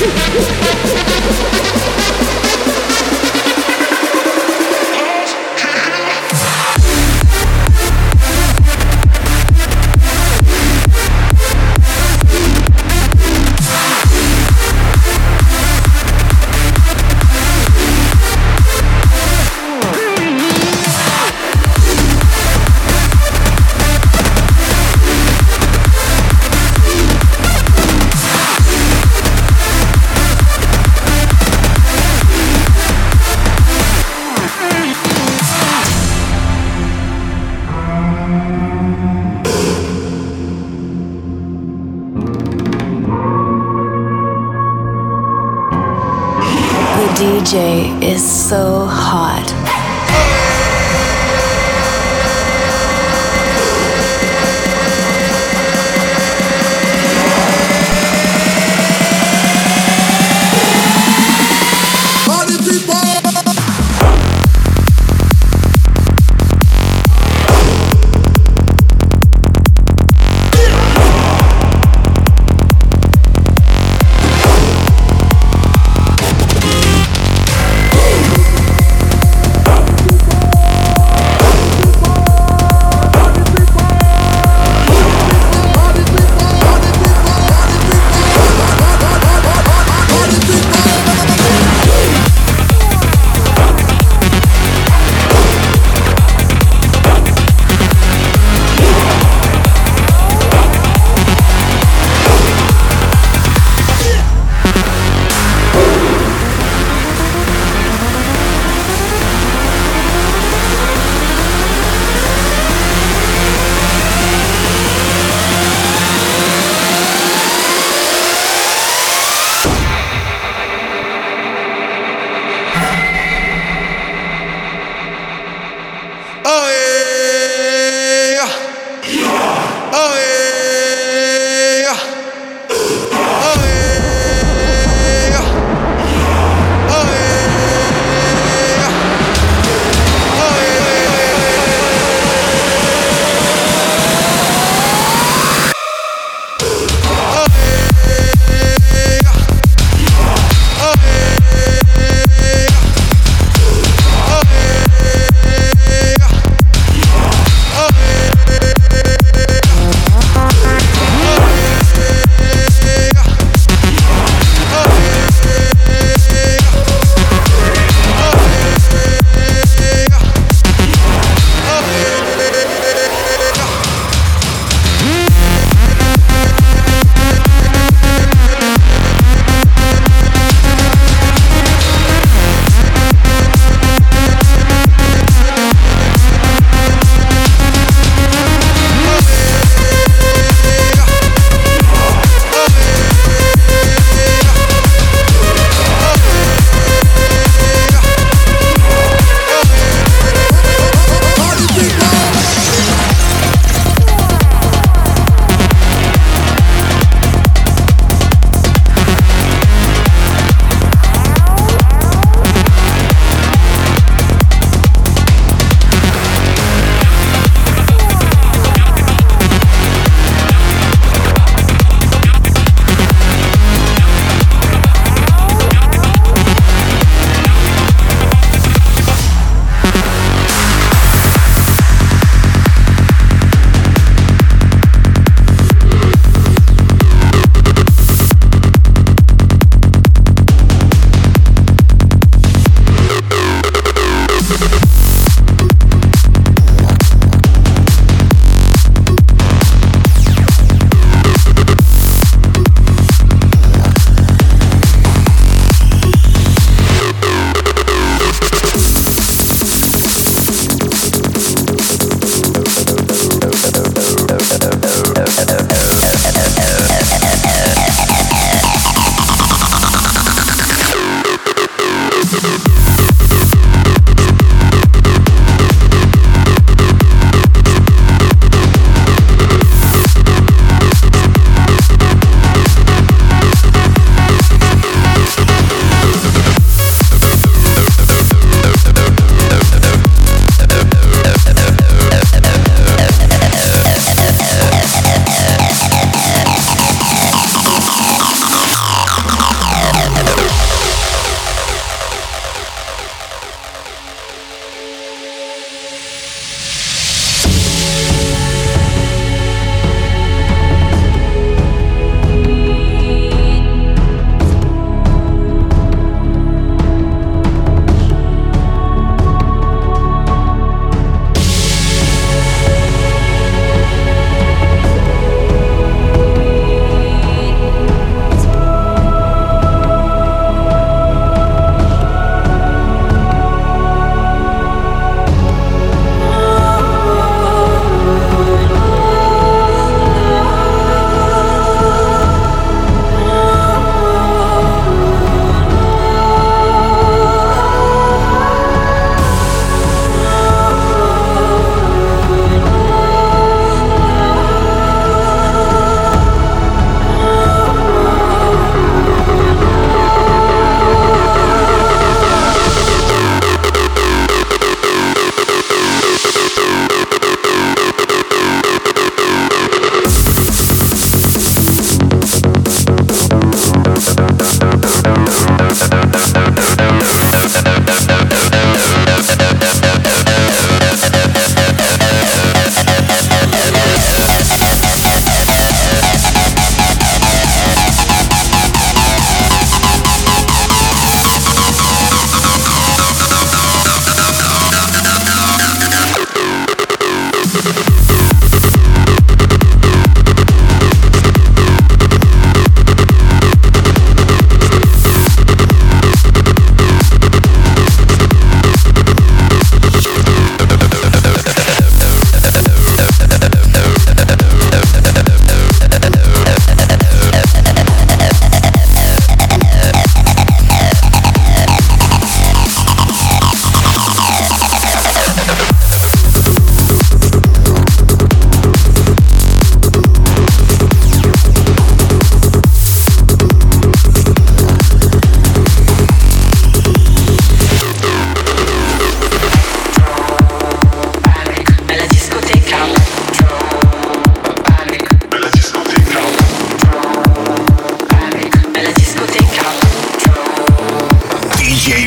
D J is so hot.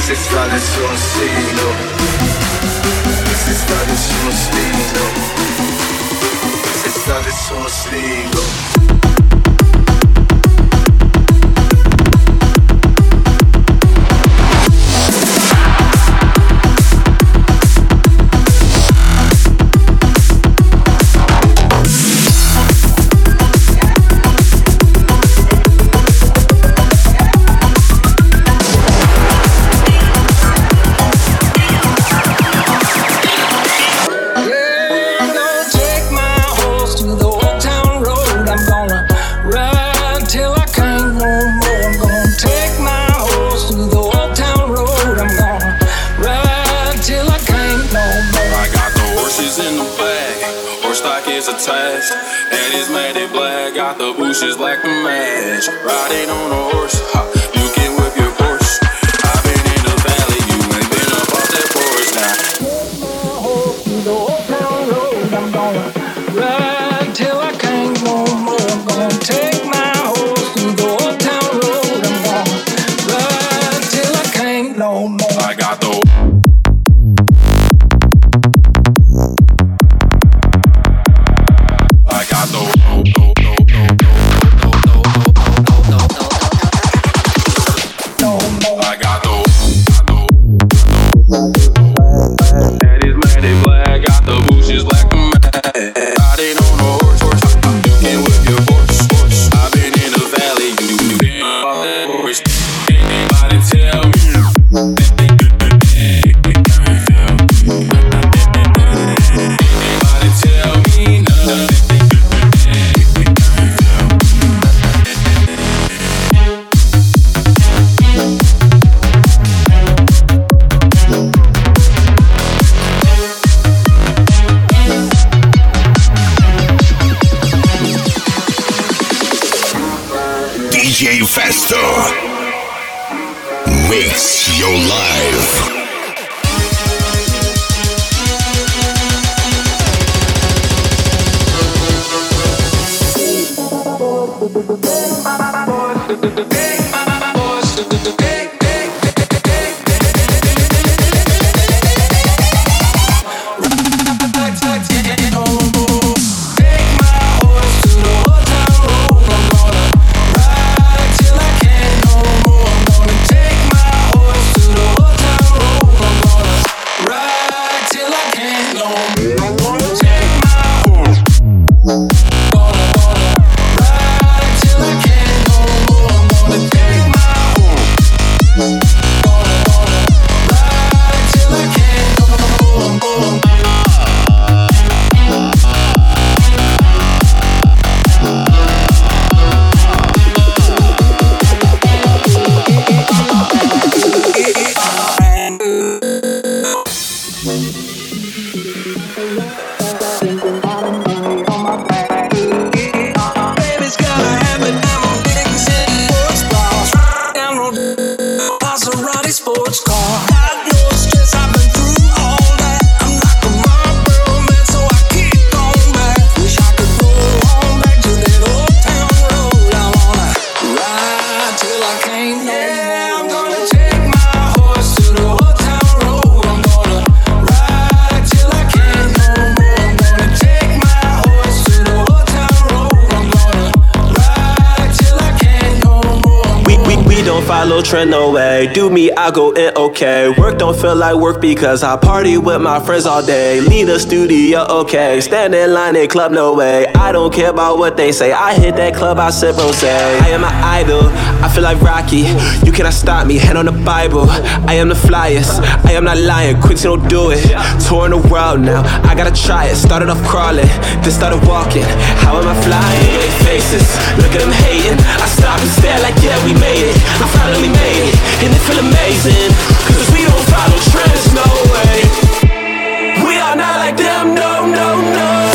se sta nessuno stilo, se sta nessuno stilo, se sta nessuno stilo. Attached, and it's matted black. Got the bushes like the match. Riding on a horse, ha, you can whip your Porsche. I've been in the valley, you ain't been up off that porch now. To the old town road, I'm gonna ride till I can't no more. I'm gonna take my horse to the old town road. I'm gonna ride till I can't no more. I got the D J Festo. Mix your life. Follow trend, no way. Do me, I go in, okay. Work don't feel like work because I party with my friends all day. Leave the studio, okay. Stand in line in club, no way. I don't care about what they say. I hit that club, I sip rose. I am an idol, I feel like Rocky. You cannot stop me, hand on the Bible. I am the flyest, I am not lying. Quit, don't do it. Touring the world now, I gotta try it. Started off crawling, then started walking. How am I flying? They faces, look at them hating. I stop and stare like, yeah, we made it. I finally made it, and it feel amazing. Cause we don't follow trends, no way. We are not like them, no, no, no.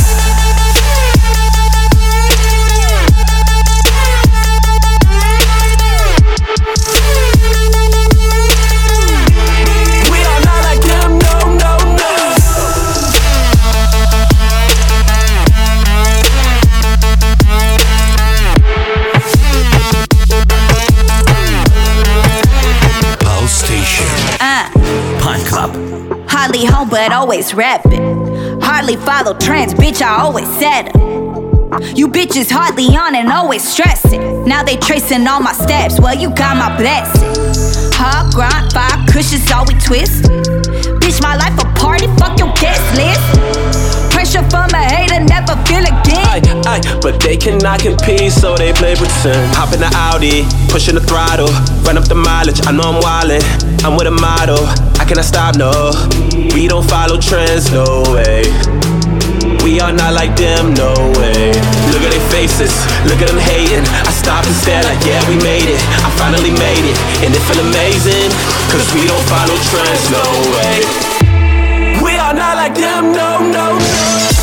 Hardly home, but always rapping. Hardly follow trends, bitch, I always said it. You bitches hardly on and always stressing. Now they tracing all my steps, well, you got my blessing. Hard grind, five cushions, all we twist. Bitch, my life a party, fuck your guest list. Pressure from a hater, never feel again. Aye, aye, but they cannot compete, so they play pretend. Hop in the Audi, pushing the throttle, run up the mileage, I know I'm wildin'. I'm with a model, I cannot stop, no. We don't follow trends, no way. We are not like them, no way. Look at their faces, look at them hating. I stop and stare like, yeah, we made it. I finally made it, and it feel amazing. Cause we don't follow trends, no way. We are not like them, no, no, no.